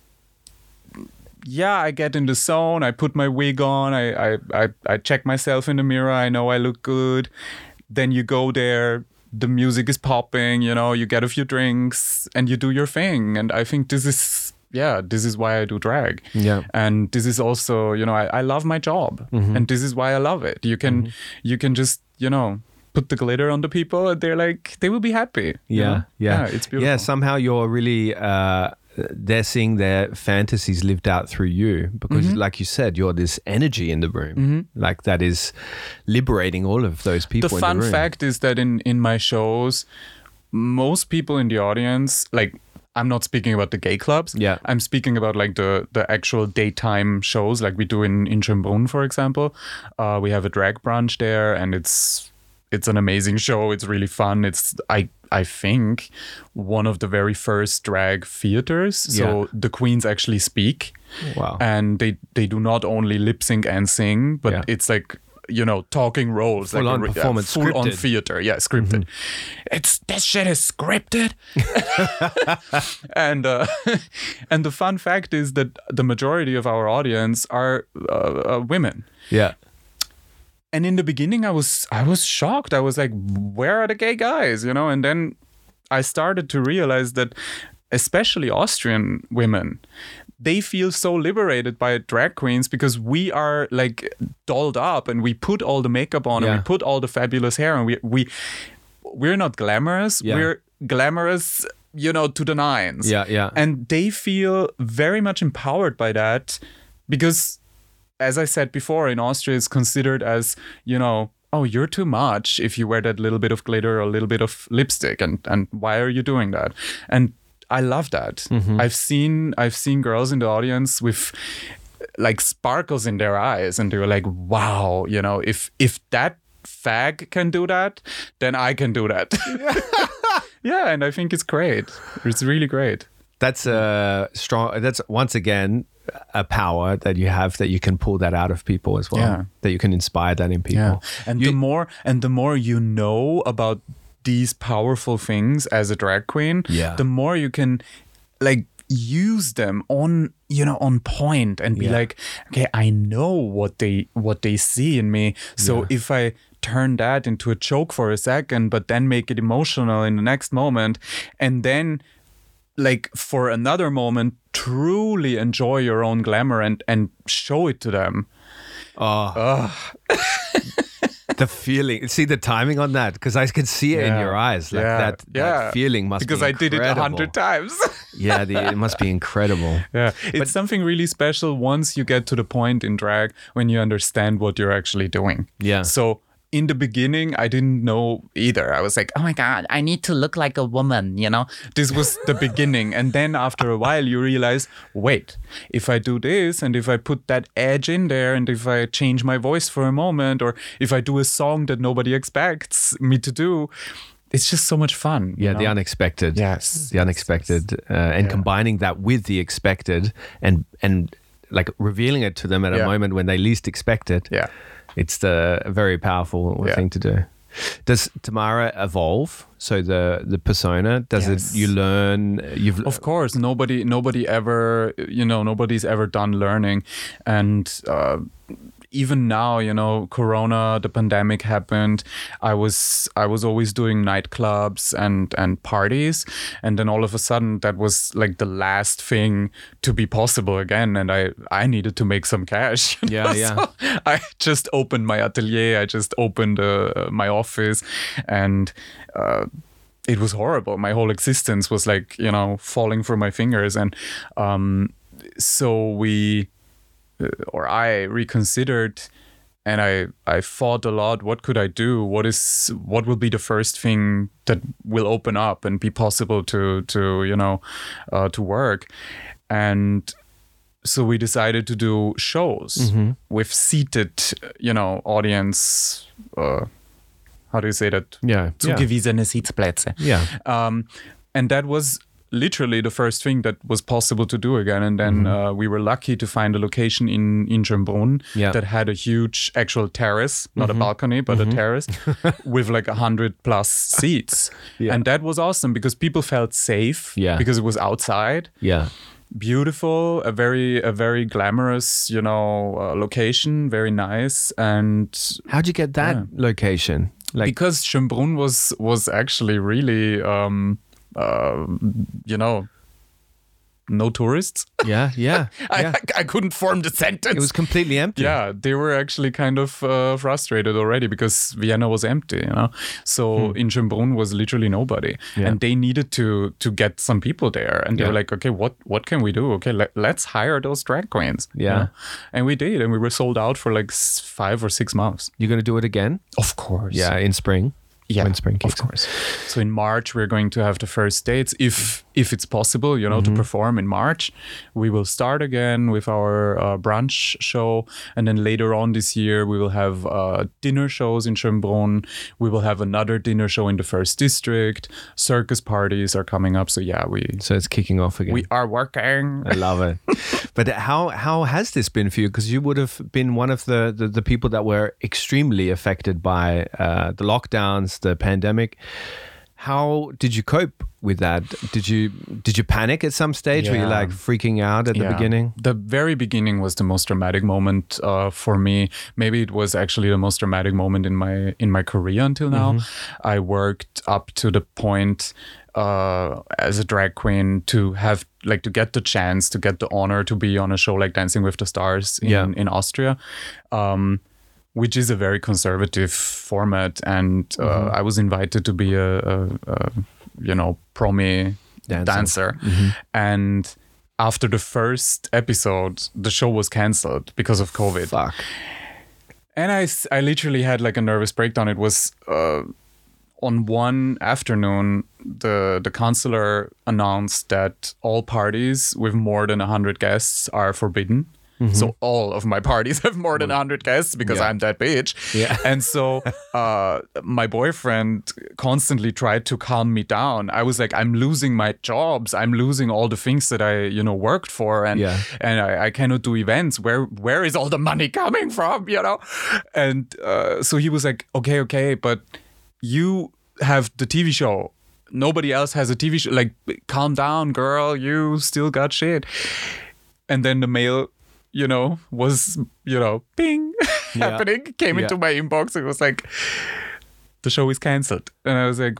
yeah, I get in the zone. I put my wig on. I, I, I, I check myself in the mirror. I know I look good. Then you go there. The music is popping. You know, you get a few drinks and you do your thing. And I think this is, yeah, this is why I do drag. Yeah. And this is also, you know, I, I love my job. Mm-hmm. And this is why I love it. You can, mm-hmm. you can just, you know, put the glitter on the people and they're like, they will be happy. Yeah. Know? Yeah. Yeah. It's beautiful. Yeah. Somehow you're really, uh, they're seeing their fantasies lived out through you because mm-hmm. like you said, you're this energy in the room. Mm-hmm. Like that is liberating all of those people the in fun the room. fact is that in, in my shows, most people in the audience, like I'm not speaking about the gay clubs. Yeah. I'm speaking about like the, the actual daytime shows like we do in, in Schönbrunn, for example. Uh, we have a drag brunch there and it's it's an amazing show. It's really fun. It's I I think one of the very first drag theaters. So Yeah. the queens actually speak. Wow. And they they do not only lip sync and sing, but Yeah. it's like, you know, talking roles, Full like on a, re- performance, uh, full on scripted. theater, yeah, scripted. Mm-hmm. It's this shit is scripted. and uh, and the fun fact is that the majority of our audience are uh, uh, women. Yeah. And in the beginning, I was I was shocked. I was like, where are the gay guys? You know, and then I started to realize that, especially Austrian women, they feel so liberated by drag queens because we are like dolled up and we put all the makeup on Yeah. and we put all the fabulous hair, and we we we're not glamorous. Yeah. We're glamorous, you know, to the nines. Yeah, yeah. And they feel very much empowered by that because, as I said before, in Austria it's considered as, you know, oh, you're too much if you wear that little bit of glitter or a little bit of lipstick, and and why are you doing that? And I love that. Mm-hmm. I've seen I've seen girls in the audience with like sparkles in their eyes, and they were like, wow, you know, if if that fag can do that, then I can do that. Yeah, and I think it's great. It's really great. That's a strong. That's once again a power that you have, that you can pull that out of people as well. Yeah. That you can inspire that in people. Yeah, and You- the more and the more you know about these powerful things as a drag queen, Yeah. the more you can like use them on, you know, on point and be Yeah. like, okay, I know what they what they see in me. So Yeah. if I turn that into a joke for a second, but then make it emotional in the next moment, and then like for another moment truly enjoy your own glamour and and show it to them. Oh. The feeling. See the timing on that, because I can see it in Yeah. your eyes. Like Yeah. that, that Yeah. feeling must because be I did it a incredible. hundred times. Yeah, the, it must be incredible. Yeah, it's something really special once you get to the point in drag when you understand what you're actually doing. Yeah. So in the beginning, I didn't know either. I was like, oh my God, I need to look like a woman, you know? This was the beginning. And then after a while, you realize, wait, if I do this and if I put that edge in there and if I change my voice for a moment, or if I do a song that nobody expects me to do, it's just so much fun. you Yeah, the know? unexpected. Yes. The unexpected. Uh, and Yeah. combining that with the expected and and like revealing it to them at a Yeah. moment when they least expect it. Yeah. It's the a very powerful Yeah. thing to do. Does Tamara evolve? So the the persona, does Yes. it, you learn, you've Of course, nobody, nobody ever, you know, nobody's ever done learning, and uh, even now, you know, Corona, the pandemic happened. I was, I was always doing nightclubs and and parties, and then all of a sudden, that was like the last thing to be possible again, and I, I needed to make some cash. you Yeah, know? yeah. So I just opened my atelier. I just opened uh, my office, and. Uh, it was horrible. My whole existence was like, you know, falling through my fingers. And um, so we, uh, or I reconsidered, and I, I thought a lot, what could I do? What is, what will be the first thing that will open up and be possible to, to you know, uh, to work? And so we decided to do shows with seated, you know, audience, uh, how do you say that? yeah, yeah. Zugewiesene Sitzplätze. Yeah. Um, and that was literally the first thing that was possible to do again. And then uh, we were lucky to find a location in, in Schönbrunn Yeah. that had a huge actual terrace, not a balcony, but a terrace with like a hundred plus seats. Yeah. And that was awesome because people felt safe Yeah. because it was outside. Yeah. Beautiful, a very, a very glamorous, you know, uh, location, very nice. And How'd you get that Yeah. location? Like, because Schönbrunn was was actually really um uh, you know, no tourists. yeah, yeah, I, yeah. I I couldn't form the sentence. It was completely empty. yeah, they were actually kind of uh, frustrated already because Vienna was empty, you know. So in Schönbrunn was literally nobody, Yeah. and they needed to to get some people there, and they Yeah. were like, okay, what what can we do? Okay, let, let's hire those drag queens. you Yeah. know? And we did, and we were sold out for like s- five or six months. You're going to do it again? Of course. Yeah, in spring. Yeah, when spring kicks of course. So in March, we're going to have the first dates, if if it's possible, you know, mm-hmm. to perform in March. We will start again with our uh, brunch show. And then later on this year, we will have uh, dinner shows in Schönbrunn. We will have another dinner show in the first district. Circus parties are coming up. So yeah, we... So it's kicking off again. We are working. I love it. But how how has this been for you? Because you would have been one of the, the, the people that were extremely affected by uh, the lockdowns, the pandemic. How did you cope with that? Did you did you panic at some stage? Yeah. Were you like freaking out at yeah. the beginning? The very beginning was the most dramatic moment uh, for me. Maybe it was actually the most dramatic moment in my in my career until now. Mm-hmm. I worked up to the point uh, as a drag queen to have like to get the chance to get the honor to be on a show like Dancing with the Stars in, yeah. in Austria. Um, which is a very conservative format, and uh, mm-hmm. I was invited to be a, a, a you know, promi dancer, dancer. Mm-hmm. And after the first episode, the show was cancelled because of COVID. Fuck. And I, I literally had like a nervous breakdown. It was uh, on one afternoon, the the counselor announced that all parties with more than one hundred guests are forbidden. Mm-hmm. So all of my parties have more than one hundred guests because yeah. I'm that bitch. Yeah. And so uh, my boyfriend constantly tried to calm me down. I was like, I'm losing my jobs. I'm losing all the things that I, you know, worked for. And yeah. and I, I cannot do events. Where Where is all the money coming from, you know? And uh, so he was like, okay, okay, but you have the T V show. Nobody else has a T V show. Like, calm down, girl. You still got shit. And then the mail... you know, was, you know, ping, yeah. happening, came yeah. into my inbox. It was like, the show is cancelled. And I was like,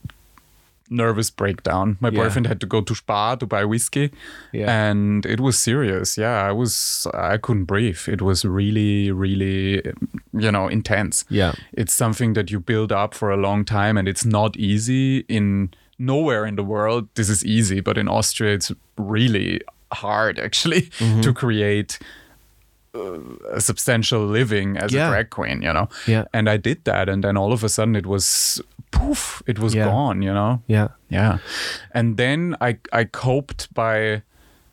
nervous breakdown. My yeah. boyfriend had to go to Spar to buy whiskey. Yeah. And it was serious. Yeah, I was, I couldn't breathe. It was really, really, you know, intense. Yeah. It's something that you build up for a long time, and it's not easy. In nowhere in the world this is easy, but in Austria it's really hard actually mm-hmm. to create uh, a substantial living as yeah. a drag queen, you know. Yeah. And I did that, and then all of a sudden it was poof, it was yeah. gone, you know. Yeah. Yeah. And then I I coped by,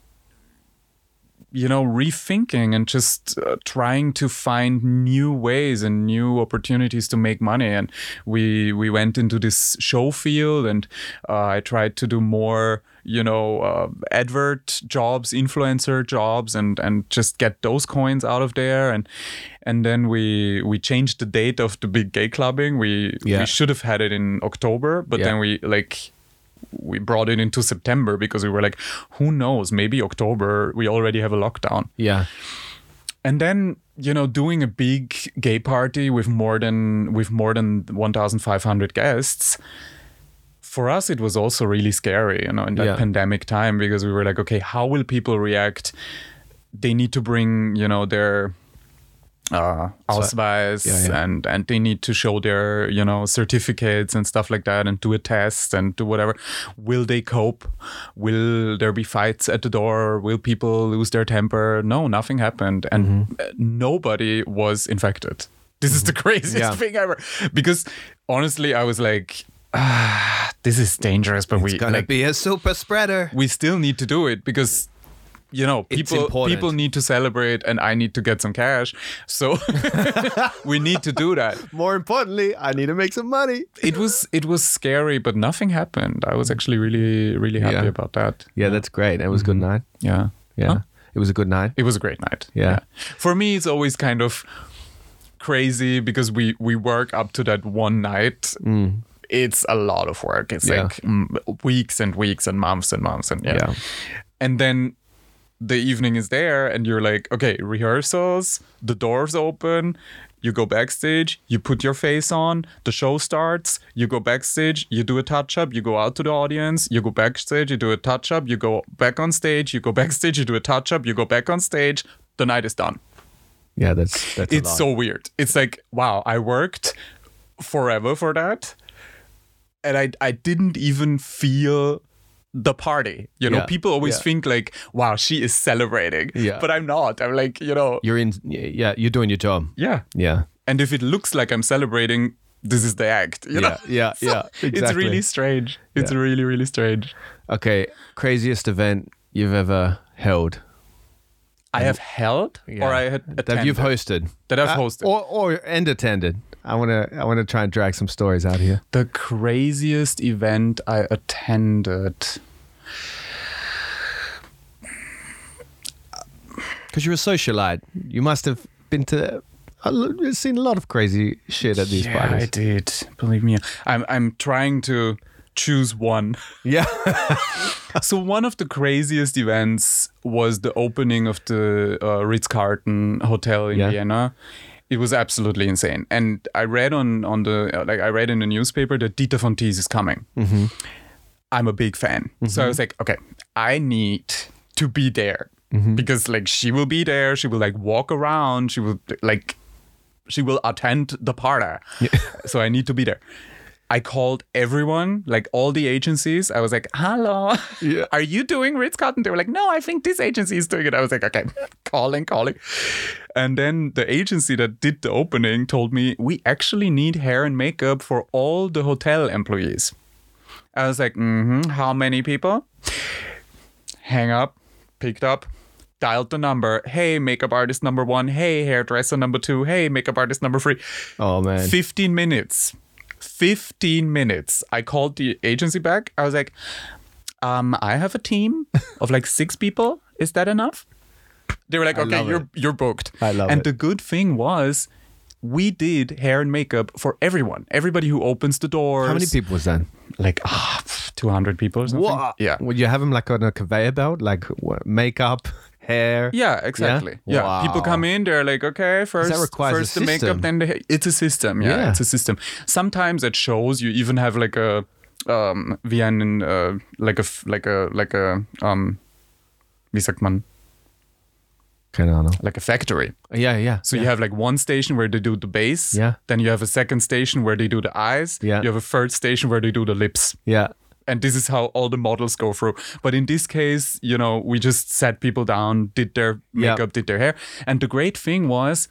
you know, rethinking and just uh, trying to find new ways and new opportunities to make money. And we we went into this show field, and uh, I tried to do more, you know, uh, advert jobs, influencer jobs, and and just get those coins out of there. And and then we we changed the date of the big gay clubbing. We yeah. we should have had it in October, but yeah. then we like. we brought it into September because we were like, who knows, maybe October, we already have a lockdown. Yeah. And then, you know, doing a big gay party with more than with more than one thousand five hundred guests, for us, it was also really scary, you know, in that yeah. pandemic time, because we were like, okay, how will people react? They need to bring, you know, their uh, Ausweis, yeah, yeah. and and they need to show their, you know, certificates and stuff like that, and do a test and do whatever. Will they cope? Will there be fights at the door? Will people lose their temper? No, nothing happened, and mm-hmm. nobody was infected. This mm-hmm. is the craziest yeah. thing ever. Because honestly, I was like, ah, this is dangerous, but it's we gonna like, be a super spreader. We still need to do it because, you know, people people need to celebrate, and I need to get some cash. So we need to do that. More importantly, I need to make some money. It was it was scary, but nothing happened. I was actually really, really happy yeah. about that. Yeah, yeah, that's great. It was mm-hmm. a good night. Yeah. Yeah. Huh? It was a good night. It was a great night. Yeah. yeah. For me, it's always kind of crazy because we, we work up to that one night. Mm. It's a lot of work. It's yeah. like mm, weeks and weeks and months and months. And yeah. yeah. And then the evening is there and you're like, okay, rehearsals, the doors open, you go backstage, you put your face on, the show starts, you go backstage, you do a touch-up, you go out to the audience, you go backstage, you do a touch-up, you go back on stage, you go backstage, you do a touch-up, you go back on stage, the night is done. Yeah, that's that's It's so weird. It's like, wow, I worked forever for that, and I I didn't even feel the party, you know. Yeah. People always yeah. think like, wow, she is celebrating, yeah. but I'm not. I'm like, you know, you're in, yeah, you're doing your job. Yeah, yeah. And if it looks like I'm celebrating, this is the act. You yeah, know? yeah, So yeah. Exactly. It's really strange. It's Yeah. really, really strange. Okay, craziest event you've ever held I have held Yeah. or I had attended. that you've hosted, That I've Uh, hosted. or or and attended. I want to I want to try and drag some stories out here. The craziest event I attended. Because you're a socialite, you must have been to. I've seen a lot of crazy shit at these yeah, parties. I did. Believe me. I'm I'm trying to choose one. Yeah. So one of the craziest events was the opening of the uh, Ritz-Carlton hotel in Yeah. Vienna. It was absolutely insane. And I read on on the uh, like I read in the newspaper that Dieter von Teese is coming. Mm-hmm. I'm a big fan. So I was like, okay, I need to be there. Mm-hmm. Because like she will be there, she will like walk around, she will like she will attend the party. So I need to be there. I called everyone, like all the agencies. I was like, hello, Yeah. are you doing Ritz-Carlton? They were like, no, I think this agency is doing it. I was like, okay, calling, calling. And then the agency that did the opening told me, we actually need hair and makeup for all the hotel employees. I was like, mm-hmm, how many people? Hang up, picked up, dialed the number. Hey, makeup artist number one. Hey, hairdresser number two. Hey, makeup artist number three. Oh man. fifteen minutes. fifteen minutes. I called the agency back. I was like, um, I have a team of like six people. Is that enough? They were like, I okay, love you're it. you're booked. I love and it. the good thing was we did hair and makeup for everyone. Everybody who opens the doors. How many people was that? Like ah, two hundred people or something. What? Yeah. Would you have them like on a conveyor belt, like what, makeup, hair? Yeah, exactly. Yeah, Wow. people come in, they're like, okay, first, requires a first the system. makeup, then the hair. It's a system. Yeah, Yeah. it's a system. Sometimes at shows, you even have like a, um, wie einen, uh, like a, f- like a, like a, um, wie sagt man, Keine Ahnung. like a factory. Yeah, yeah. So yeah. you have like one station where they do the base. Yeah. Then you have a second station where they do the eyes. Yeah. You have a third station where they do the lips. Yeah. And this is how all the models go through. But in this case, you know, we just sat people down, did their Yeah. makeup, did their hair. And the great thing was,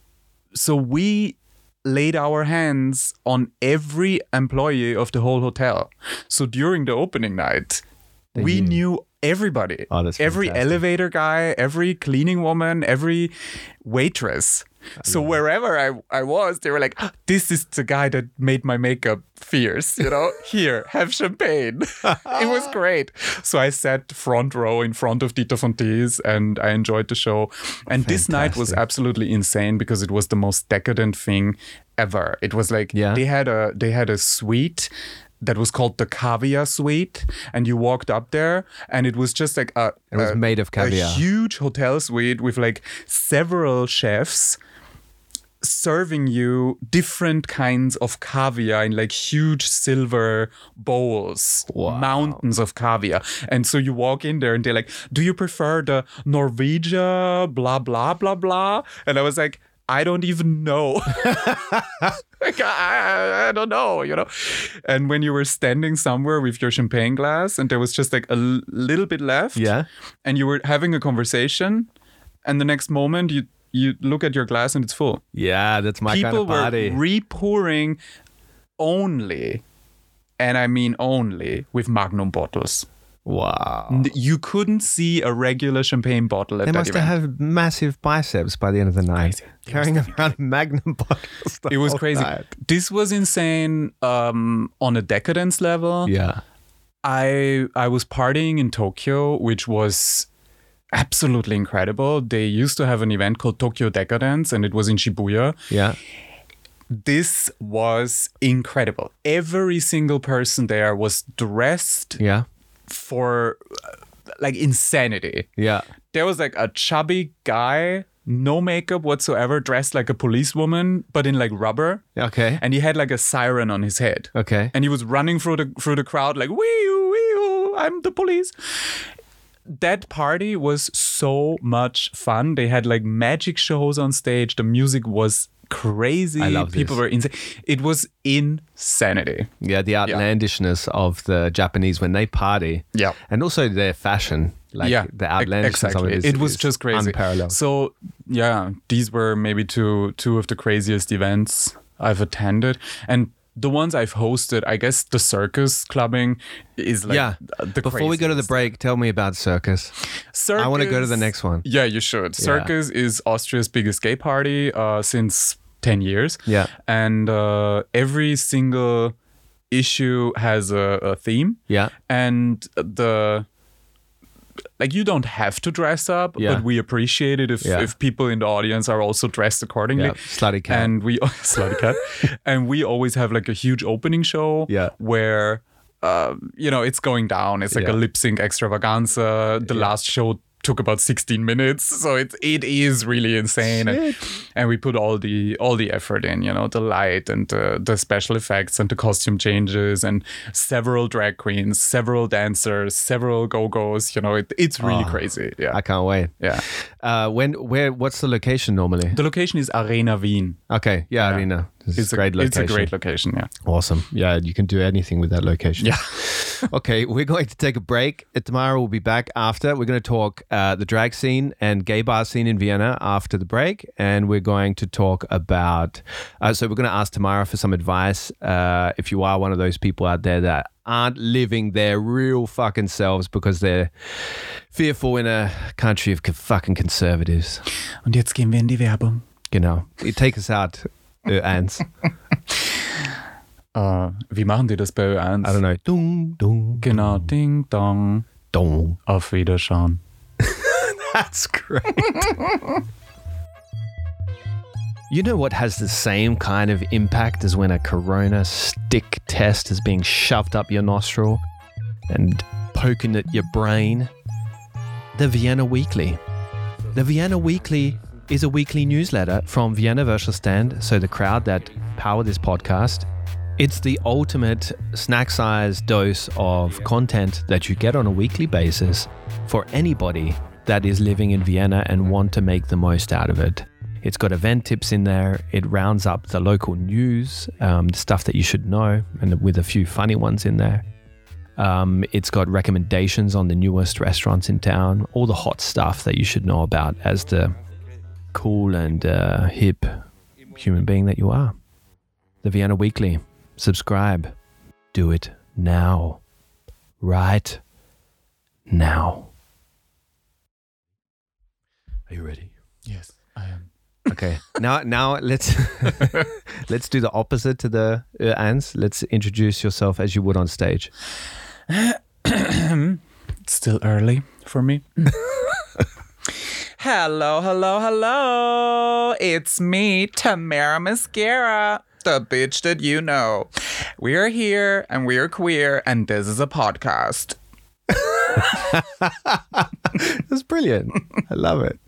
so we laid our hands on every employee of the whole hotel. So during the opening night, we knew. knew everybody. Oh, that's every fantastic. elevator guy, every cleaning woman, every waitress. So wherever I, I was, they were like, "Ah, this is the guy that made my makeup fierce, you know? Here, have champagne." It was great. So I sat front row in front of Dieter von Teese and I enjoyed the show. And this night was Fantastic. absolutely insane because it was the most decadent thing ever. It was like Yeah. they had a they had a suite that was called the Caviar Suite, and you walked up there, and it was just like a It was a- made of caviar. a huge hotel suite with like several chefs serving you different kinds of caviar in like huge silver bowls, Wow. mountains of caviar. And so you walk in there and they're like, do you prefer the Norwegia, blah, blah, blah, blah? And I was like, I don't even know. Like, I, I don't know, you know. And when you were standing somewhere with your champagne glass and there was just like a l- little bit left, Yeah. and you were having a conversation, and the next moment you you look at your glass and it's full. Yeah, that's my People kind of party. were re-pouring only, and I mean only, with Magnum bottles. wow. N- You couldn't see a regular champagne bottle at They that must event. have massive biceps by the end of the night. Crazy. They Carrying around Magnum bottles. the It was whole crazy. night. This was insane um, on a decadence level. Yeah. I I was partying in Tokyo, which was absolutely incredible. They used to have an event called Tokyo Decadence, and it was in Shibuya. Yeah. This was incredible. Every single person there was dressed Yeah. for uh, like insanity. Yeah. There was like a chubby guy, no makeup whatsoever, dressed like a policewoman, but in like rubber. Okay. And he had like a siren on his head. Okay. And he was running through the through the crowd like, wee-oo, wee-oo, I'm the police. That party was so much fun. They had like magic shows on stage. The music was crazy. I love People this. were insane. It was insanity. Yeah, the outlandishness of the Japanese when they party. Yeah. And also their fashion. Like yeah, the outlandishness exactly. of it is, it was is just crazy. unparalleled. So yeah, these were maybe two two of the craziest events I've attended. And the ones I've hosted, I guess the circus clubbing is like yeah. the Before we go to the break, tell me about circus. Circus, I want to go to the next one. Yeah, you should. Yeah. Circus is Austria's biggest gay party uh, since ten years. Yeah. And uh, every single issue has a, a theme. Yeah. And the... Like, you don't have to dress up, yeah. but we appreciate it if, yeah. if people in the audience are also dressed accordingly. Yeah. Slutty cat. And we slutty cat. And we always have like a huge opening show yeah. where uh, you know, it's going down. It's like yeah. a lip sync extravaganza. The yeah. last show took about sixteen minutes, so it it is really insane, and, and we put all the all the effort in, you know, the light and the, the special effects and the costume changes and several drag queens, several dancers, several go-go's, you know, it, it's really oh, crazy. Yeah, I can't wait. Yeah. Uh, when where what's the location normally? The location is Arena Wien. Okay, yeah, yeah. Arena. This it's is a great location. It's a great location. Yeah. Awesome. Yeah, you can do anything with that location. Yeah. Okay, we're going to take a break. Tomorrow we'll be back after. We're going to talk uh, the drag scene and gay bar scene in Vienna after the break. And we're going to talk about, uh, so we're going to ask Tamara for some advice. Uh, if you are one of those people out there that aren't living their real fucking selves because they're fearful in a country of fucking conservatives. Und jetzt gehen wir in die Werbung. Genau. Take us out, Ö eins. Uh, wie machen die das bei Ö eins? I don't know. Dung, dung, genau, ding, dong. Dong. Auf Wiederschauen. That's great. You know what has the same kind of impact as when a corona stick test is being shoved up your nostril and poking at your brain? The Vienna Weekly. The Vienna Weekly is a weekly newsletter from Vienna Wäschestand, so the crowd that power this podcast. It's the ultimate snack-sized dose of content that you get on a weekly basis for anybody that is living in Vienna and want to make the most out of it. It's got event tips in there. It rounds up the local news, um, stuff that you should know, and with a few funny ones in there. Um, it's got recommendations on the newest restaurants in town, all the hot stuff that you should know about as the cool and uh, hip human being that you are. The Vienna Weekly. Subscribe. Do it now. Right now. Are you ready? Yes, I am. Okay. Now now let's let's do the opposite to the Ö eins. Let's introduce yourself as you would on stage. It's still early for me. Hello, hello, hello. It's me, Tamara Mascara. The bitch that you know. We're here and we're queer and this is a podcast. That's brilliant. I love it.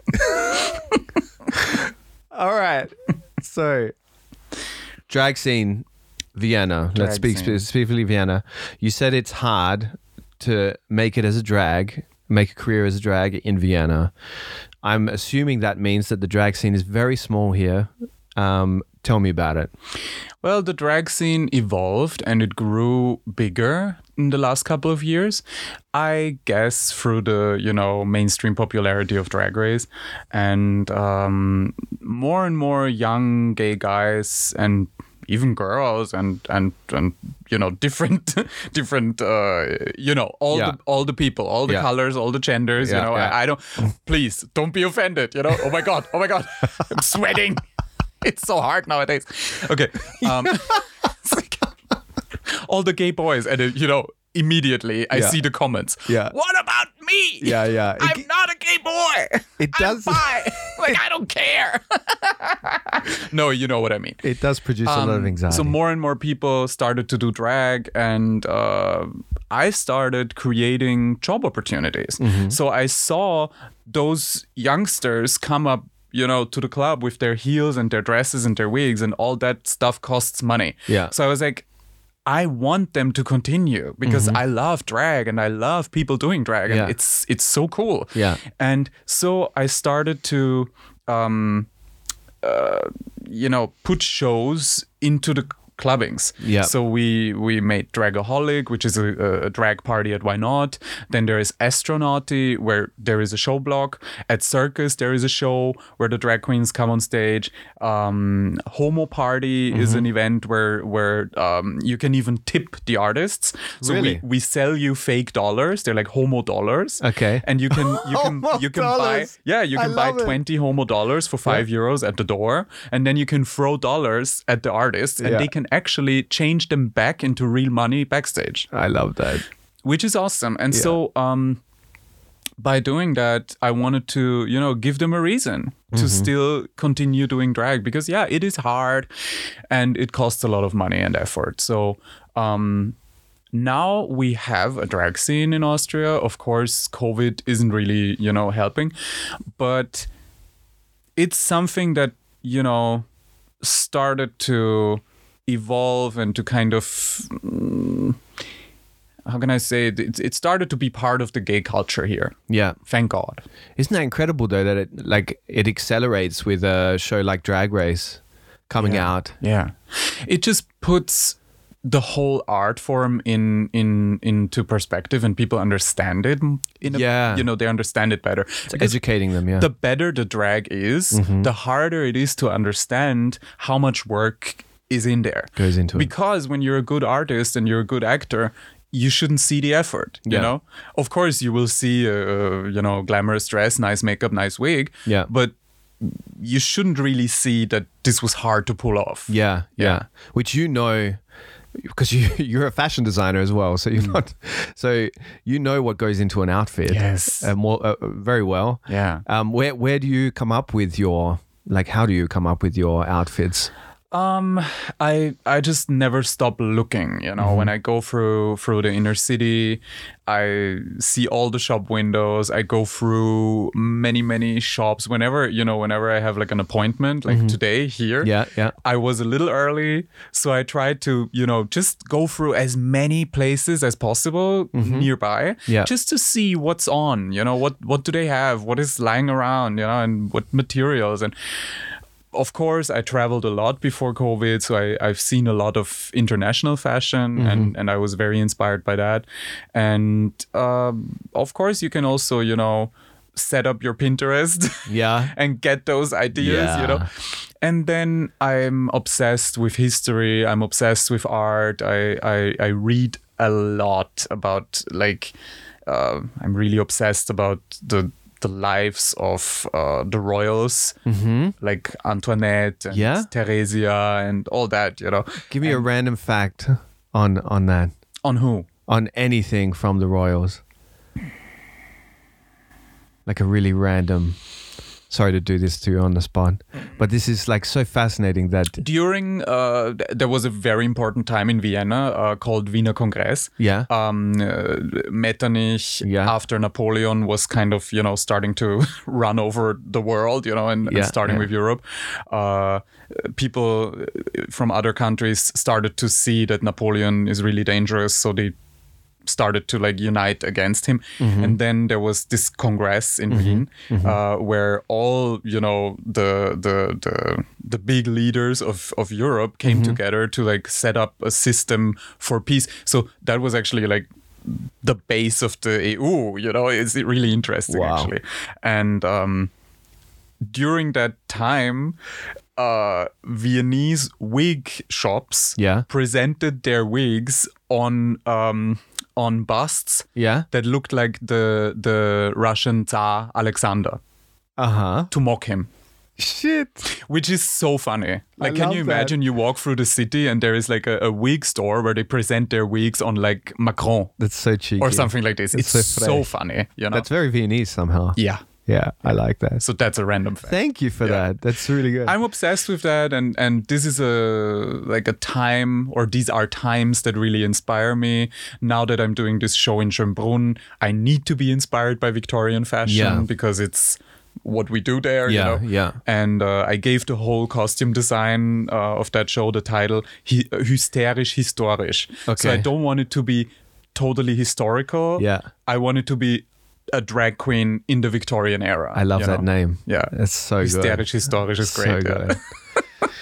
All right. So, drag scene, Vienna. Drag Let's speak scene. specifically Vienna. You said it's hard to make it as a drag, make a career as a drag in Vienna. I'm assuming that means that the drag scene is very small here. Um, tell me about it. Well, the drag scene evolved and it grew bigger in the last couple of years. I guess through the, you know, mainstream popularity of Drag Race, and um, more and more young gay guys and even girls and and and you know different different uh, you know all yeah. the all the people, all the yeah. colors, all the genders. Yeah, you know, yeah. I, I don't. Please don't be offended. You know. Oh my god. Oh my god. I'm sweating. It's so hard nowadays. Okay. Um, it's like, all the gay boys, and it, you know, immediately I Yeah. see the comments. Yeah. What about me? Yeah, yeah. It- I'm not a gay boy. It does- I'm bi. Like, I don't care. No, you know what I mean. It does produce a lot of Um, anxiety. So more and more people started to do drag, and uh, I started creating job opportunities. Mm-hmm. So I saw those youngsters come up, you know, to the club with their heels and their dresses and their wigs, and all that stuff costs money. Yeah. So I was like, I want them to continue because I love drag and I love people doing drag, and Mm-hmm. Yeah. it's it's so cool. Yeah. And so I started to, um, uh, you know, put shows into the clubbings. Yeah. So we we made Dragaholic, which is a, a drag party at Why Not. Then there is Astronauty, where there is a show block. At Circus, there is a show where the drag queens come on stage. Um, Homo Party mm-hmm. is an event where where um, you can even tip the artists. So really? we, we sell you fake dollars. They're like Homo dollars. Okay. And you can you can Homo you can dollars. buy yeah you can I buy love it. twenty Homo dollars for five yeah. euros at the door, and then you can throw dollars at the artists, and yeah. they can actually change them back into real money backstage. I love that. Which is awesome. And yeah. so um, by doing that, I wanted to, you know, give them a reason to mm-hmm. still continue doing drag, because yeah, it is hard and it costs a lot of money and effort. So um, now we have a drag scene in Austria. Of course, COVID isn't really, you know, helping, but it's something that, you know, started to evolve and to kind of mm, how can I say it? it it started to be part of the gay culture here. Yeah, thank God. Isn't that incredible though, that it like it accelerates with a show like Drag Race coming yeah. out? Yeah, it just puts the whole art form in in into perspective, and people understand it in a, yeah you know, they understand it better. It's educating them. Yeah, the better the drag is, mm-hmm. the harder it is to understand how much work is in there, goes into it. Because when you're a good artist and you're a good actor, you shouldn't see the effort, you yeah. know? Of course, you will see, a, you know, glamorous dress, nice makeup, nice wig. Yeah. But you shouldn't really see that this was hard to pull off. Yeah, yeah. yeah. Which you know, because you, you're a fashion designer as well. So you're mm. not, so you know what goes into an outfit. Yes. Uh, more, uh, very well. Yeah. Um, where, where do you come up with your, like, how do you come up with your outfits? Um, I I just never stop looking, you know. Mm-hmm. When I go through through the inner city, I see all the shop windows. I go through many many shops. Whenever you know, whenever I have like an appointment, like mm-hmm. today here, yeah, yeah. I was a little early, so I tried to you know just go through as many places as possible mm-hmm. nearby, yeah. just to see what's on. You know, what what do they have? What is lying around? You know, and what materials and. Of course, I traveled a lot before COVID, so I, I've seen a lot of international fashion, mm-hmm. and, and I was very inspired by that. And um, of course, you can also, you know, set up your Pinterest yeah. and get those ideas, yeah. you know. And then I'm obsessed with history. I'm obsessed with art. I, I, I read a lot about, like, uh, I'm really obsessed about the the lives of uh, the royals, mm-hmm. like Antoinette and yeah? Theresia and all that, you know. Give me and a random fact on on that. On who? On anything from the royals. Like a really random... Sorry to do this to you on the spot, but this is like so fascinating that... During, uh, there was a very important time in Vienna uh, called Wiener Kongress. Yeah. Um, uh, Metternich, yeah. after Napoleon was kind of, you know, starting to run over the world, you know, and, yeah, and starting yeah. with Europe. Uh, people from other countries started to see that Napoleon is really dangerous, so they started to like unite against him. Mm-hmm. And then there was this congress in mm-hmm. Wien mm-hmm. uh, where all, you know, the the the, the big leaders of, of Europe came mm-hmm. together to like set up a system for peace. So that was actually like the base of the E U, you know. It's really interesting. Wow. Actually. And um, during that time, uh, Viennese wig shops yeah. presented their wigs on um, on busts yeah. that looked like the the Russian Tsar Alexander uh-huh. to mock him. Shit. Which is so funny. Like, I can love you imagine that. You walk through the city and there is like a, a wig store where they present their wigs on like Macron. That's so cheeky. Or something like this. It's It's so so funny. You know? That's very Viennese somehow. Yeah. Yeah, I like that. So that's a random fact. Thank you for Yeah. that. That's really good. I'm obsessed with that, and and this is a like a time, or these are times that really inspire me. Now that I'm doing this show in Schönbrunn, I need to be inspired by Victorian fashion Yeah. because it's what we do there. Yeah, you know? yeah. And uh, I gave the whole costume design uh, of that show the title Hy- Hysterisch Historisch. So Okay. I don't want it to be totally historical. Yeah. I want it to be a drag queen in the Victorian era. I love you that know? name. Yeah. That's so good. Hysterisch Historisch is great. So yeah. good.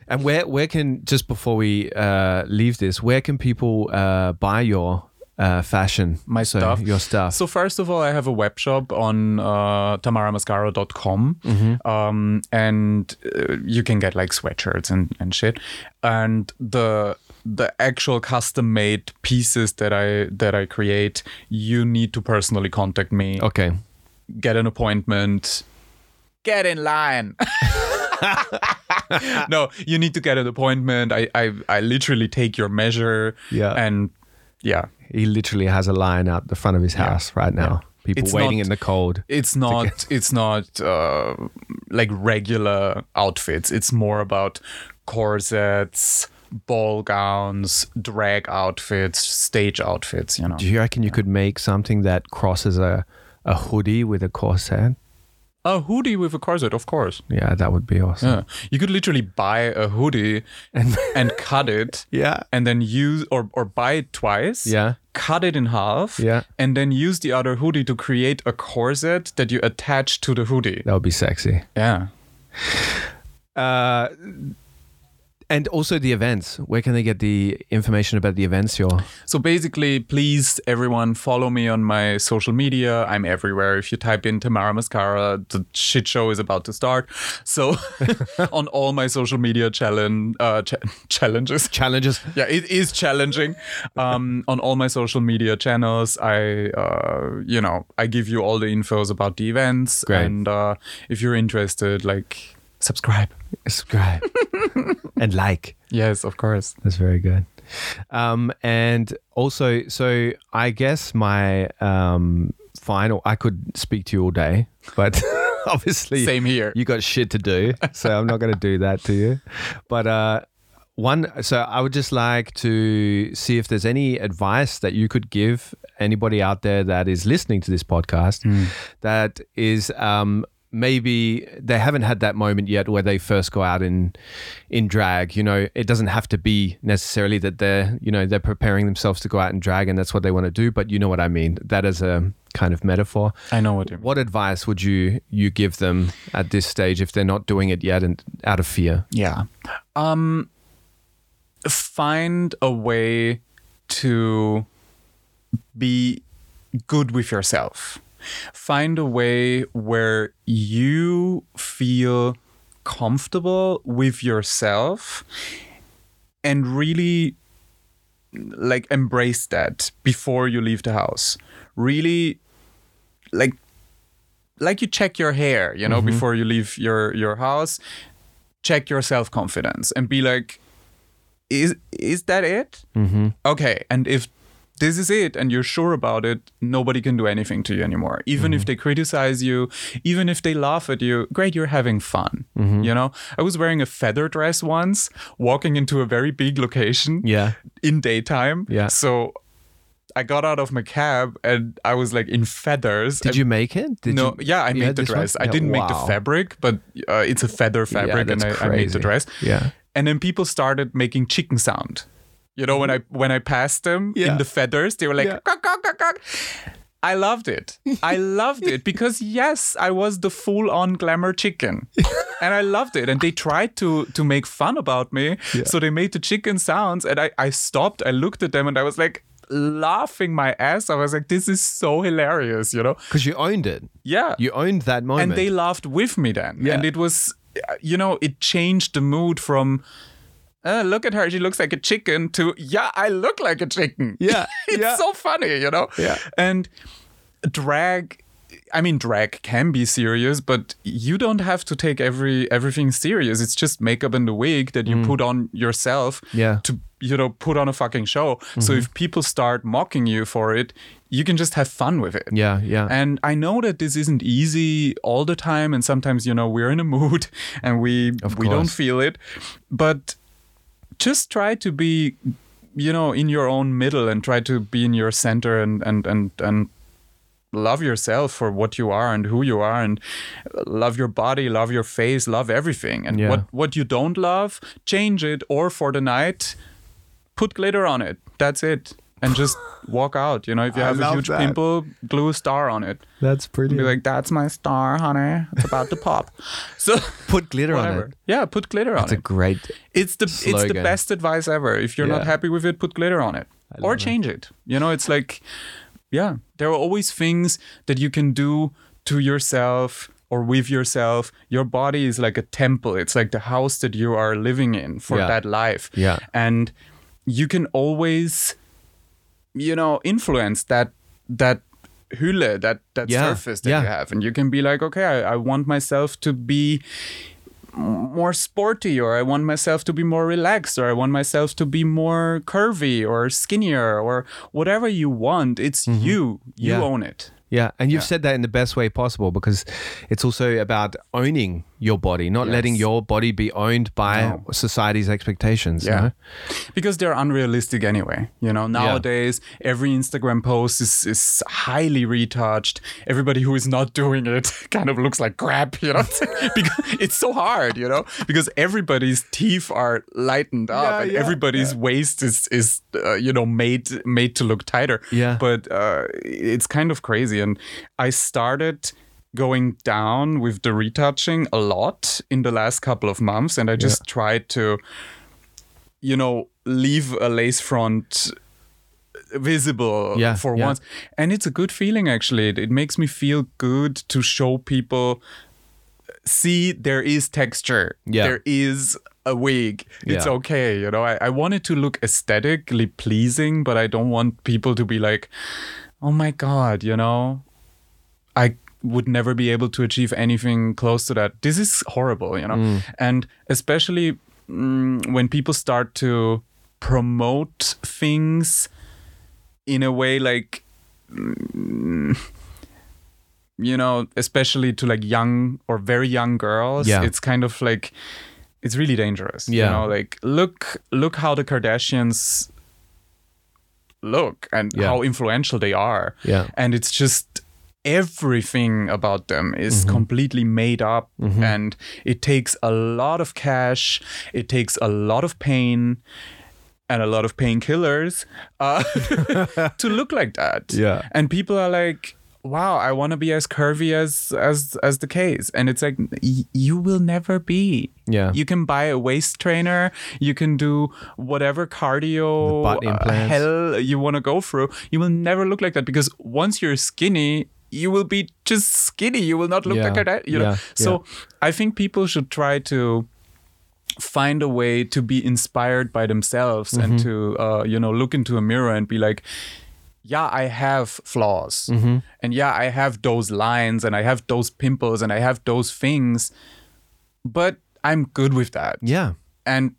And where where can, just before we uh, leave this, where can people uh, buy your uh, fashion? My so, stuff. Your stuff. So first of all, I have a web shop on uh, tamara mascara dot com, Mm-hmm. um, and uh, you can get like sweatshirts and, and shit. And the the actual custom made pieces that I that I create, you need to personally contact me. Okay. Get an appointment. Get in line. No, you need to get an appointment. I, I I literally take your measure. Yeah. And yeah. He literally has a line out the front of his house right now. People It's waiting not- in the cold. It's not it's not uh, like regular outfits. It's more about corsets, ball gowns, drag outfits, stage outfits, you know. Do you reckon you could make something that crosses a, a hoodie with a corset? A hoodie with a corset, of course. Yeah, that would be awesome. Yeah. You could literally buy a hoodie And and cut it yeah. and then use or, or buy it twice. Yeah. Cut it in half. Yeah. And then use the other hoodie to create a corset that you attach to the hoodie. That would be sexy. Yeah. Uh, and also the events. Where can they get the information about the events you're... So basically, please, everyone, follow me on my social media. I'm everywhere. If you type in Tamara Mascara, the shit show is about to start. So on all my social media challenge, uh, ch- challenges. Challenges. Yeah, it is challenging. Um, on all my social media channels, I, uh, you know, I give you all the infos about the events. Great. And uh, if you're interested, like, subscribe. Subscribe. And like. Yes, of course. That's very good. Um, and also, so I guess my um, final, I could speak to you all day, but obviously Same here. you got shit to do. So I'm not going to do that to you. But uh, one, so I would just like to see if there's any advice that you could give anybody out there that is listening to this podcast that is, um, maybe they haven't had that moment yet where they first go out in in drag. You know, it doesn't have to be necessarily that they're, you know, they're preparing themselves to go out and drag and that's what they want to do, but you know what I mean. That is a kind of metaphor. I know what you mean. What advice would you you give them at this stage if they're not doing it yet and out of fear? Yeah. Um, find a way to be good with yourself. Find a way where you feel comfortable with yourself and really like embrace that before you leave the house. Really like like you check your hair, you know, Mm-hmm. before you leave your your house. Check your self-confidence and be like, is is that it? Mm-hmm. Okay, and if this is it and you're sure about it, nobody can do anything to you anymore. Even if they criticize you, even if they laugh at you, great, you're having fun. You know, I was wearing a feather dress once, walking into a very big location Yeah. in daytime. Yeah. So I got out of my cab and I was like in feathers. Did and you make it? Did no, you, yeah, I you made had the this one? dress. I Yeah, didn't make wow. the fabric, but uh, it's a feather fabric, and I, that's I made the crazy. dress. Yeah. And then people started making chicken sound. You know, when I when I passed them Yeah. in the feathers, they were like, Yeah. "Kok, kok, kok, kok." I loved it. I loved it because yes, I was the full-on glamour chicken, and I loved it. And they tried to to make fun about me, so they made the chicken sounds, and I I stopped. I looked at them, and I was like laughing my ass. I was like, "This is so hilarious," you know? Because you owned it. Yeah, You owned that moment. and they laughed with me then, Yeah. and it was, you know, it changed the mood from. Uh, look at her, she looks like a chicken, to, yeah, I look like a chicken. Yeah, It's yeah. so funny, you know? Yeah. And drag, I mean, drag can be serious, but you don't have to take every everything serious. It's just makeup and a wig that you put on yourself Mm. Yeah. to, you know, put on a fucking show. So if people start mocking you for it, you can just have fun with it. Yeah, yeah. And I know that this isn't easy all the time, and sometimes, you know, we're in a mood and we Of we don't course. feel it. But just try to be, you know, in your own middle and try to be in your center and and and and love yourself for what you are and who you are, and love your body, love your face, love everything. And Yeah. what what you don't love, change it, or for the night, put glitter on it. That's it. and just walk out. You know, if you I have a love huge that. pimple, glue a star on it. That's Be brilliant. like, that's my star, honey. It's about to pop. So Put glitter on whatever. it. Yeah, put glitter That's on a it. great. It's the it's the slogan. best advice ever. If you're not Yeah. happy with it, put glitter on it love or it. change it. You know, it's like, yeah, there are always things that you can do to yourself or with yourself. Your body is like a temple. It's like the house that you are living in for Yeah. that life. Yeah. And you can always, you know, influence that that hülle, that that Yeah. surface that Yeah. you have, and you can be like, okay, I, I want myself to be more sporty, or I want myself to be more relaxed, or I want myself to be more curvy or skinnier, or whatever you want. It's you. You Yeah. own it. Yeah, and you've Yeah. said that in the best way possible, because it's also about owning your body, not Yes. letting your body be owned by No. society's expectations. Yeah. No? Because they're unrealistic anyway. You know, nowadays every Instagram post is, is highly retouched. Everybody who is not doing it kind of looks like crap, you know, because it's so hard, you know, because everybody's teeth are lightened up Yeah, and yeah, everybody's waist is, is uh, you know, made made to look tighter. Yeah. But uh, it's kind of crazy. And I started going down with the retouching a lot in the last couple of months, and I just tried to, you know, leave a lace front visible Yeah, for yeah. once. And it's a good feeling, actually. It, it makes me feel good to show people, see, there is texture. Yeah. There is a wig. It's Yeah. okay. You know, I, I want it to look aesthetically pleasing, but I don't want people to be like, oh my God, you know, I would never be able to achieve anything close to that. This is horrible, you know? Mm. And especially mm, when people start to promote things in a way like, mm, you know, especially to like young or very young girls, Yeah. it's kind of like, it's really dangerous. Yeah. You know, like look, look how the Kardashians look and Yeah. how influential they are. Yeah. And it's just everything about them is Mm-hmm. completely made up, and it takes a lot of cash, it takes a lot of pain and a lot of painkillers uh, to look like that. Yeah. And people are like, wow, I want to be as curvy as as as the case. And it's like, y- you will never be. Yeah. You can buy a waist trainer. You can do whatever cardio The butt uh, implants. hell you want to go through. You will never look like that, because once you're skinny, you will be just skinny. You will not look Yeah. like that. You know? Yeah. So I think people should try to find a way to be inspired by themselves and Mm-hmm. to uh, you know, look into a mirror and be like, yeah, I have flaws. Mm-hmm. And yeah, I have those lines and I have those pimples and I have those things, but I'm good with that. Yeah. And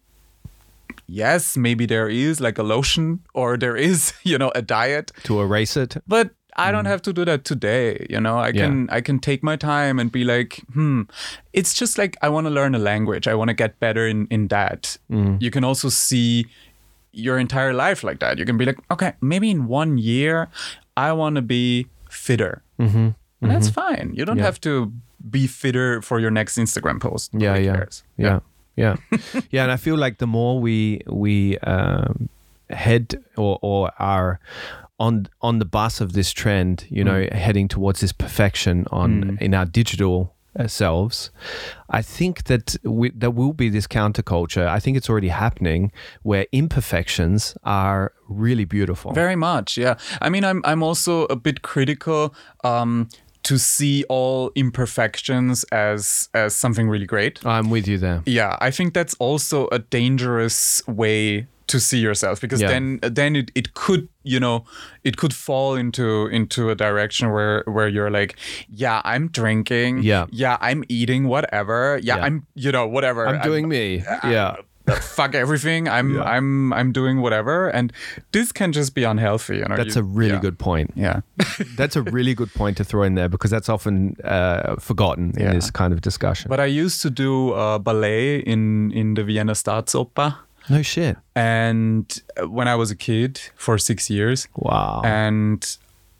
yes, maybe there is like a lotion or there is, you know, a diet, To erase it. but I don't have to do that today. You know, I Yeah. can I can take my time and be like, hmm, it's just like I want to learn a language. I want to get better in, in that. You can also see your entire life like that. You can be like, okay, maybe in one year, I want to be fitter. Mm-hmm. And that's fine. You don't Yeah. have to be fitter for your next Instagram post. Yeah, Nobody yeah, cares. yeah, yeah, yeah. And I feel like the more we we um, head or or are on on the bus of this trend, you know, heading towards this perfection on in our digital uh, selves, I think that we, there will be this counterculture. I think it's already happening, where imperfections are really beautiful. Very much, yeah. I mean, I'm I'm also a bit critical um, to see all imperfections as as something really great. I'm with you there. Yeah, I think that's also a dangerous way to see yourself, because Yeah. then then it, it could, you know, it could fall into into a direction where where you're like, yeah, I'm drinking, Yeah. yeah, I'm eating whatever, yeah, Yeah. I'm, you know, whatever, I'm doing me. Yeah. fuck everything, I'm Yeah. I'm I'm doing whatever, and this can just be unhealthy, you know. That's you- a really yeah. good point. Yeah. That's a really good point to throw in there, because that's often uh, forgotten in Yeah. this kind of discussion. But I used to do uh, ballet in in the Vienna Staatsoper, No shit. and when I was a kid for six years. Wow. And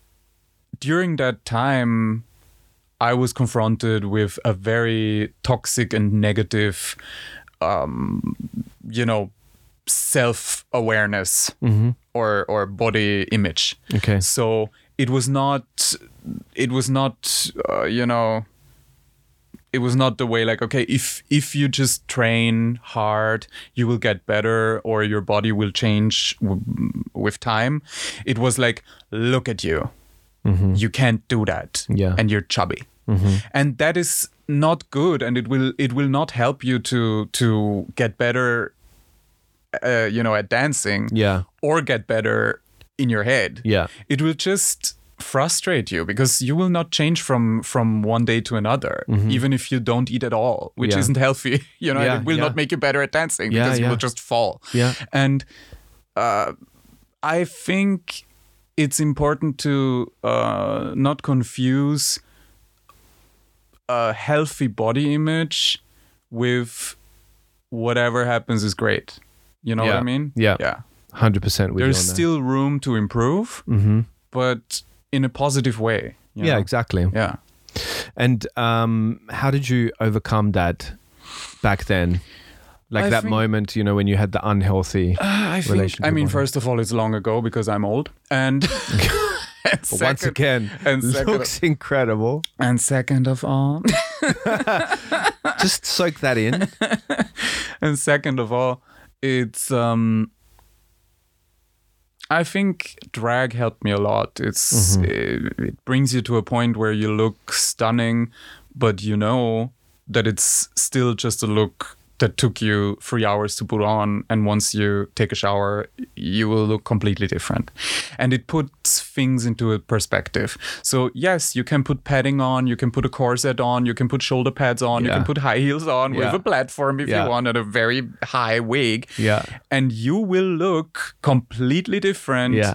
during that time, I was confronted with a very toxic and negative, um, you know, self-awareness or or body image. Okay. So it was not, it was not, uh, you know, it was not the way like, okay, if if you just train hard, you will get better or your body will change w- with time. It was like, look at you. Mm-hmm. You can't do that. Yeah. And you're chubby. Mm-hmm. And that is not good, and it will it will not help you to to get better, uh, you know, at dancing. Yeah. Or get better in your head. Yeah. It will just frustrate you because you will not change from from one day to another, mm-hmm. even if you don't eat at all, which yeah. isn't healthy. You know, yeah, it will yeah. not make you better at dancing yeah, because yeah. you will just fall. Yeah. And uh, I think it's important to uh, not confuse a healthy body image with whatever happens is great. You know yeah. what I mean? Yeah. Yeah. one hundred percent with There's you on still room to improve, mm-hmm. but in a positive way. You yeah, know? exactly. Yeah. And um, how did you overcome that back then? Like I that think, moment, you know, when you had the unhealthy uh, I think, relationship. I mean, with first of all, it's long ago because I'm old. And, and but second, once again, and looks second, incredible. And second of all, just soak that in. And second of all, it's, um, I think drag helped me a lot. It's mm-hmm. it, it brings you to a point where you look stunning, but you know that it's still just a look that took you three hours to put on, and once you take a shower, you will look completely different. And it puts things into a perspective. So yes, you can put padding on, you can put a corset on, you can put shoulder pads on, yeah. you can put high heels on yeah. with a platform if yeah. you want, and a very high wig. Yeah. And you will look completely different. Yeah.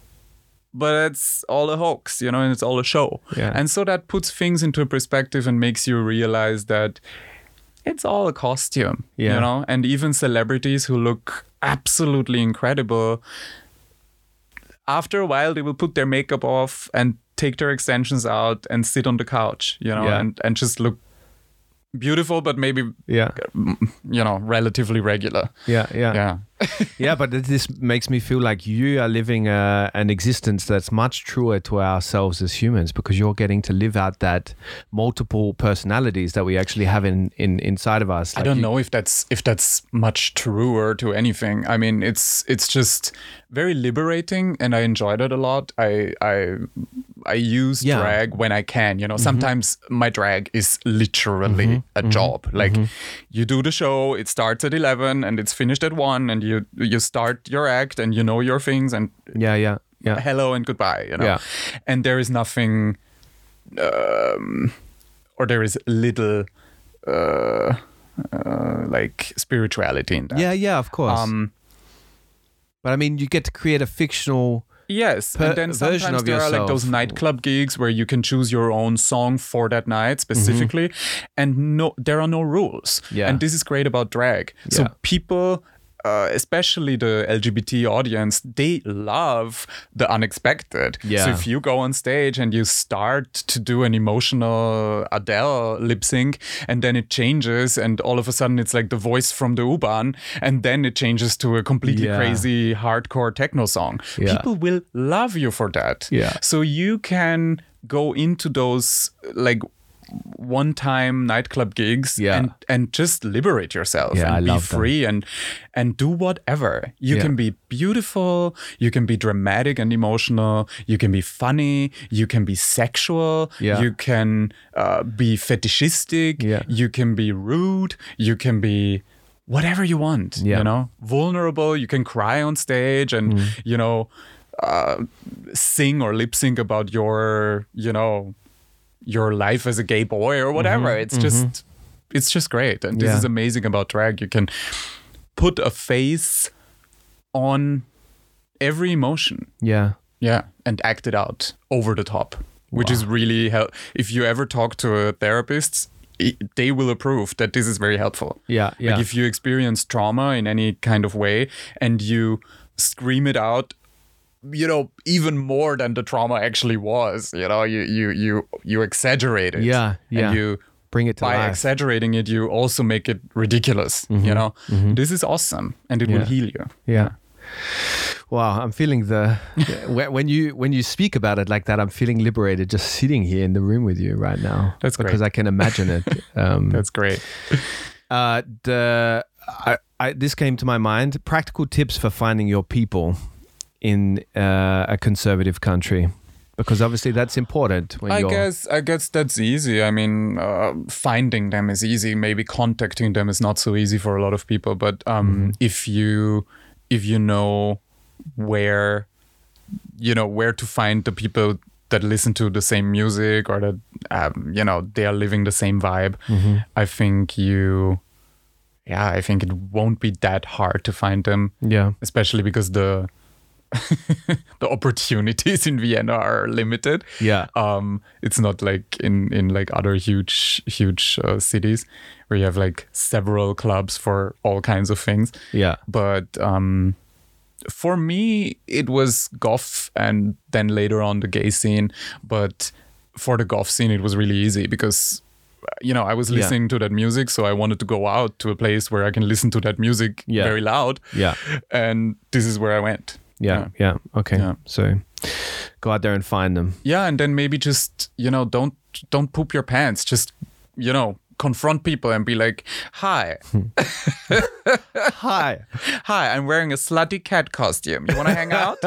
But it's all a hoax, you know, and it's all a show. Yeah. And so that puts things into a perspective and makes you realize that it's all a costume, yeah. you know, and even celebrities who look absolutely incredible, after a while, they will put their makeup off and take their extensions out and sit on the couch, you know, yeah. and, and just look beautiful, but maybe, yeah. you know, relatively regular. Yeah, yeah. Yeah. Yeah, but this makes me feel like you are living a, an existence that's much truer to ourselves as humans, because you're getting to live out that multiple personalities that we actually have in, in inside of us. Like I don't you, know if that's if that's much truer to anything. I mean, it's it's just very liberating, and I enjoyed it a lot. I I I use yeah. drag when I can. You know, mm-hmm. sometimes my drag is literally mm-hmm. a mm-hmm. job. Like mm-hmm. you do the show, it starts at eleven and it's finished at one, and you you start your act and you know your things, and yeah yeah yeah hello and goodbye, you know. Yeah. And there is nothing um, or there is little uh, uh, like spirituality in that. Yeah yeah of course. Um, but I mean, you get to create a fictional Yes, per- and then sometimes there yourself. are like those nightclub gigs where you can choose your own song for that night specifically, mm-hmm. and no, there are no rules. Yeah. And this is great about drag. Yeah. So people, uh, especially the L G B T audience, they love the unexpected. Yeah. So if you go on stage and you start to do an emotional Adele lip sync, and then it changes, and all of a sudden it's like the voice from the U-Bahn, and then it changes to a completely yeah. crazy hardcore techno song. Yeah. People will love you for that. Yeah. So you can go into those like one-time nightclub gigs yeah. and and just liberate yourself yeah, and I be love free and and do whatever. You yeah. can be beautiful, you can be dramatic and emotional, you can be funny, you can be sexual, yeah. you can uh, be fetishistic, yeah. you can be rude, you can be whatever you want, yeah. you know, vulnerable, you can cry on stage and, mm. you know, uh, sing or lip sync about your, you know, your life as a gay boy or whatever. Mm-hmm. It's just, mm-hmm. it's just great. And this yeah. is amazing about drag. You can put a face on every emotion. Yeah. Yeah. And act it out over the top, which wow. is really help. If you ever talk to a therapist, they will approve that this is very helpful. Yeah, yeah. Like if you experience trauma in any kind of way and you scream it out, you know, even more than the trauma actually was, you know, you you you you exaggerate it. Yeah, yeah. And you bring it to by life. exaggerating it, you also make it ridiculous. Mm-hmm. You know, mm-hmm. this is awesome, and it yeah. will heal you. Yeah. Wow, I'm feeling the when when you when you speak about it like that, I'm feeling liberated just sitting here in the room with you right now. That's great. Because I can imagine it. Um, That's great. Uh, the I, I, this came to my mind: practical tips for finding your people in uh, a conservative country, because obviously that's important. When I you're, guess I guess that's easy. I mean, uh, finding them is easy. Maybe contacting them is not so easy for a lot of people. But um, mm-hmm. if you if you know where you know where to find the people that listen to the same music, or that um, you know they are living the same vibe, mm-hmm. I think you. Yeah, I think it won't be that hard to find them. Yeah, especially because the the opportunities in Vienna are limited. Yeah, um, it's not like in in like other huge huge uh, cities where you have like several clubs for all kinds of things. Yeah, but um, for me, it was goth and then later on the gay scene. But for the goth scene, it was really easy because, you know, I was listening yeah. to that music, so I wanted to go out to a place where I can listen to that music yeah. very loud. Yeah. And this is where I went. Yeah, yeah. yeah. Okay. Yeah. So go out there and find them. Yeah, and then maybe just, you know, don't don't poop your pants. Just, you know, confront people and be like, hi. Hi. Hi, I'm wearing a slutty cat costume. You want to hang out?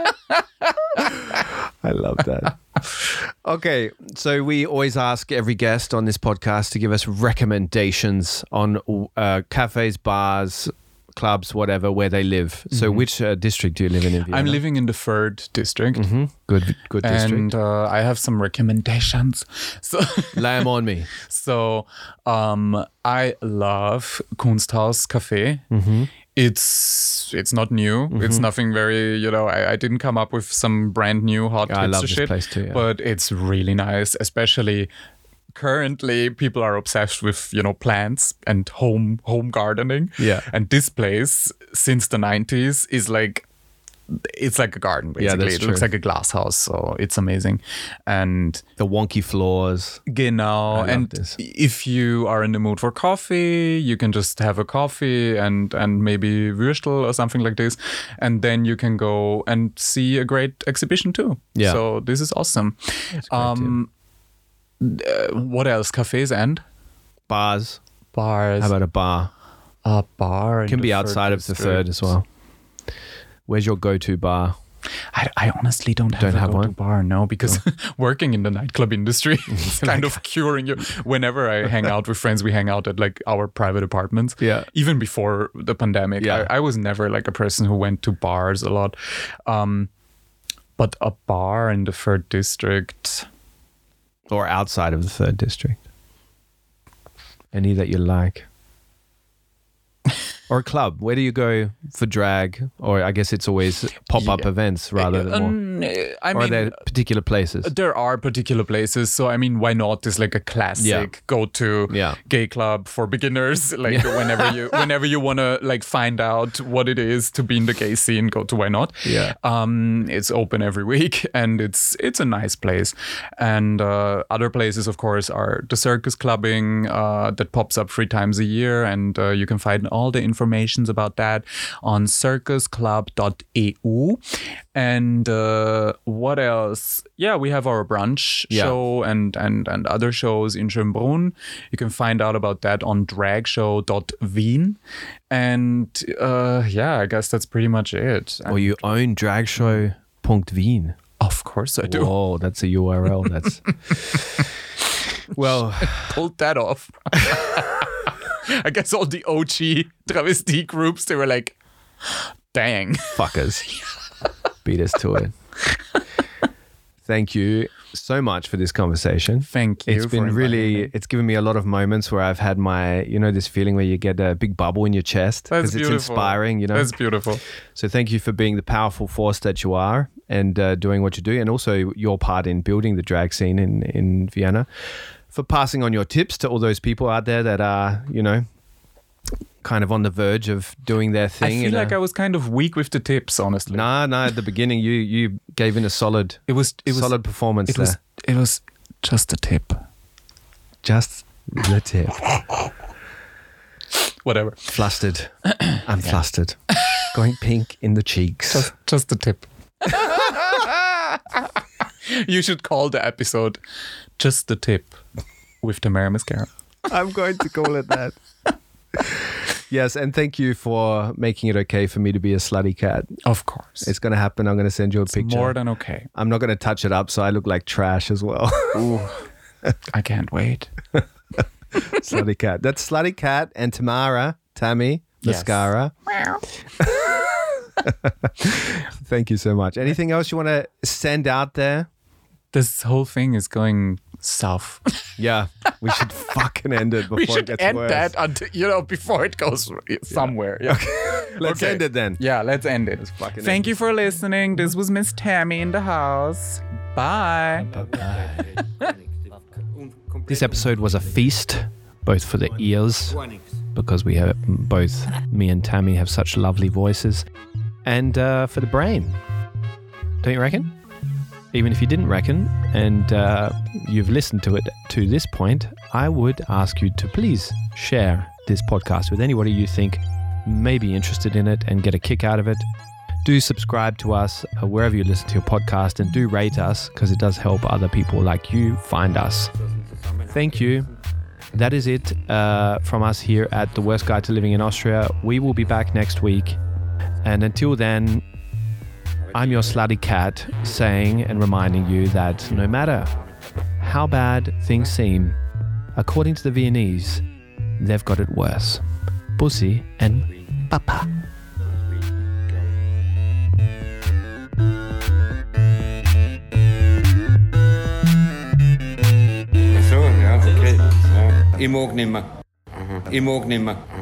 I love that. Okay, so we always ask every guest on this podcast to give us recommendations on uh, cafes, bars, clubs, whatever, where they live. Mm-hmm. So which uh, district do you live in in Vienna? I'm living in the third district. Mm-hmm. Good good district. And uh, I have some recommendations. So lay them on me. So um, I love Kunsthaus Café. Mm-hmm. It's it's not new. Mm-hmm. It's nothing very, you know, I, I didn't come up with some brand new hot yeah, hipster I love this shit. Place too, yeah. But it's really nice, especially currently people are obsessed with, you know, plants and home home gardening. Yeah. And this place since the nineties is like, it's like a garden basically. Yeah, that's it true. looks like a glass house, so it's amazing. And the wonky floors. Genau. And this. If you are in the mood for coffee, you can just have a coffee and and maybe Würstel or something like this, and then you can go and see a great exhibition too. Yeah. So this is awesome. That's great um uh, what else? Cafes and bars. Bars. How about a bar? A bar can be outside of the third as well. Where's your go-to bar? I, I honestly don't have don't a have go-to one? bar, no, because no. working in the nightclub industry is kind of curing you. Whenever I hang out with friends, we hang out at like our private apartments. Yeah. Even before the pandemic, yeah. I, I was never like a person who went to bars a lot. Um, but a bar in the third district. Or outside of the third district. Any that you like. Or a club. Where do you go for drag? Or I guess it's always pop-up yeah. events rather than more. Um, I or mean, are there particular places? There are particular places. So, I mean, why not? Is like a classic yeah. go-to yeah. gay club for beginners. Like yeah. whenever you whenever you want to like find out what it is to be in the gay scene, go to Why Not. Yeah. Um, it's open every week and it's it's a nice place. And uh, other places, of course, are the circus clubbing uh, that pops up three times a year. And uh, you can find all the information about that on circus club dot e u. And uh, what else? Yeah, we have our brunch yeah. show and, and, and other shows in Schönbrunn. You can find out about that on drag show dot wien. And uh, yeah, I guess that's pretty much it. Well, you own drag show dot wien. Of course I do. Whoa, that's a U R L. That's well, pulled that off. I guess all the O G travesti groups, they were like, dang. Fuckers. Beat us to it. Thank you so much for this conversation. Thank you. It's been really, me. It's given me a lot of moments where I've had my, you know, this feeling where you get a big bubble in your chest. That's beautiful. It's inspiring, you know. That's beautiful. So thank you for being the powerful force that you are and uh, doing what you do, and also your part in building the drag scene in, in Vienna. For passing on your tips to all those people out there that are, you know, kind of on the verge of doing their thing. I feel like a, I was kind of weak with the tips, honestly. Nah, nah. At the beginning, you you gave in a solid, it was it was solid performance. It there. was it was just a tip, just the tip. Whatever. Flustered. I'm flustered. going pink in the cheeks. Just, just a tip. You should call the episode Just the Tip with Tamara Mascara. I'm going to call it that. Yes, and thank you for making it okay for me to be a slutty cat. Of course. It's going to happen. I'm going to send you a it's picture. More than okay. I'm not going to touch it up so I look like trash as well. Ooh, I can't wait. Slutty cat. That's Slutty Cat and Tamara, Tammy, Mascara. Yes. Thank you so much. Anything else you want to send out there? This whole thing is going south. Yeah, we should fucking end it before we should it gets end worse. that until, you know, before it goes somewhere. Yeah. Okay. Let's okay. end it then. Yeah, let's end it. Let's Thank you for listening. This was Miss Tammy in the house. Bye. Bye-bye. This episode was a feast, both for the ears, because we have both, me and Tammy have such lovely voices, and uh, for the brain. Don't you reckon? Even if you didn't reckon, and uh, you've listened to it to this point, I would ask you to please share this podcast with anybody you think may be interested in it and get a kick out of it. Do subscribe to us uh, wherever you listen to your podcast, and do rate us, because it does help other people like you find us. Thank you. That is it uh, from us here at The Worst Guide to Living in Austria. We will be back next week. And until then, I'm your slutty cat, saying and reminding you that no matter how bad things seem, according to the Viennese, they've got it worse. Pussy and papa. Så, ja, okay. Ja. I mag nimmer. I mag nimmer.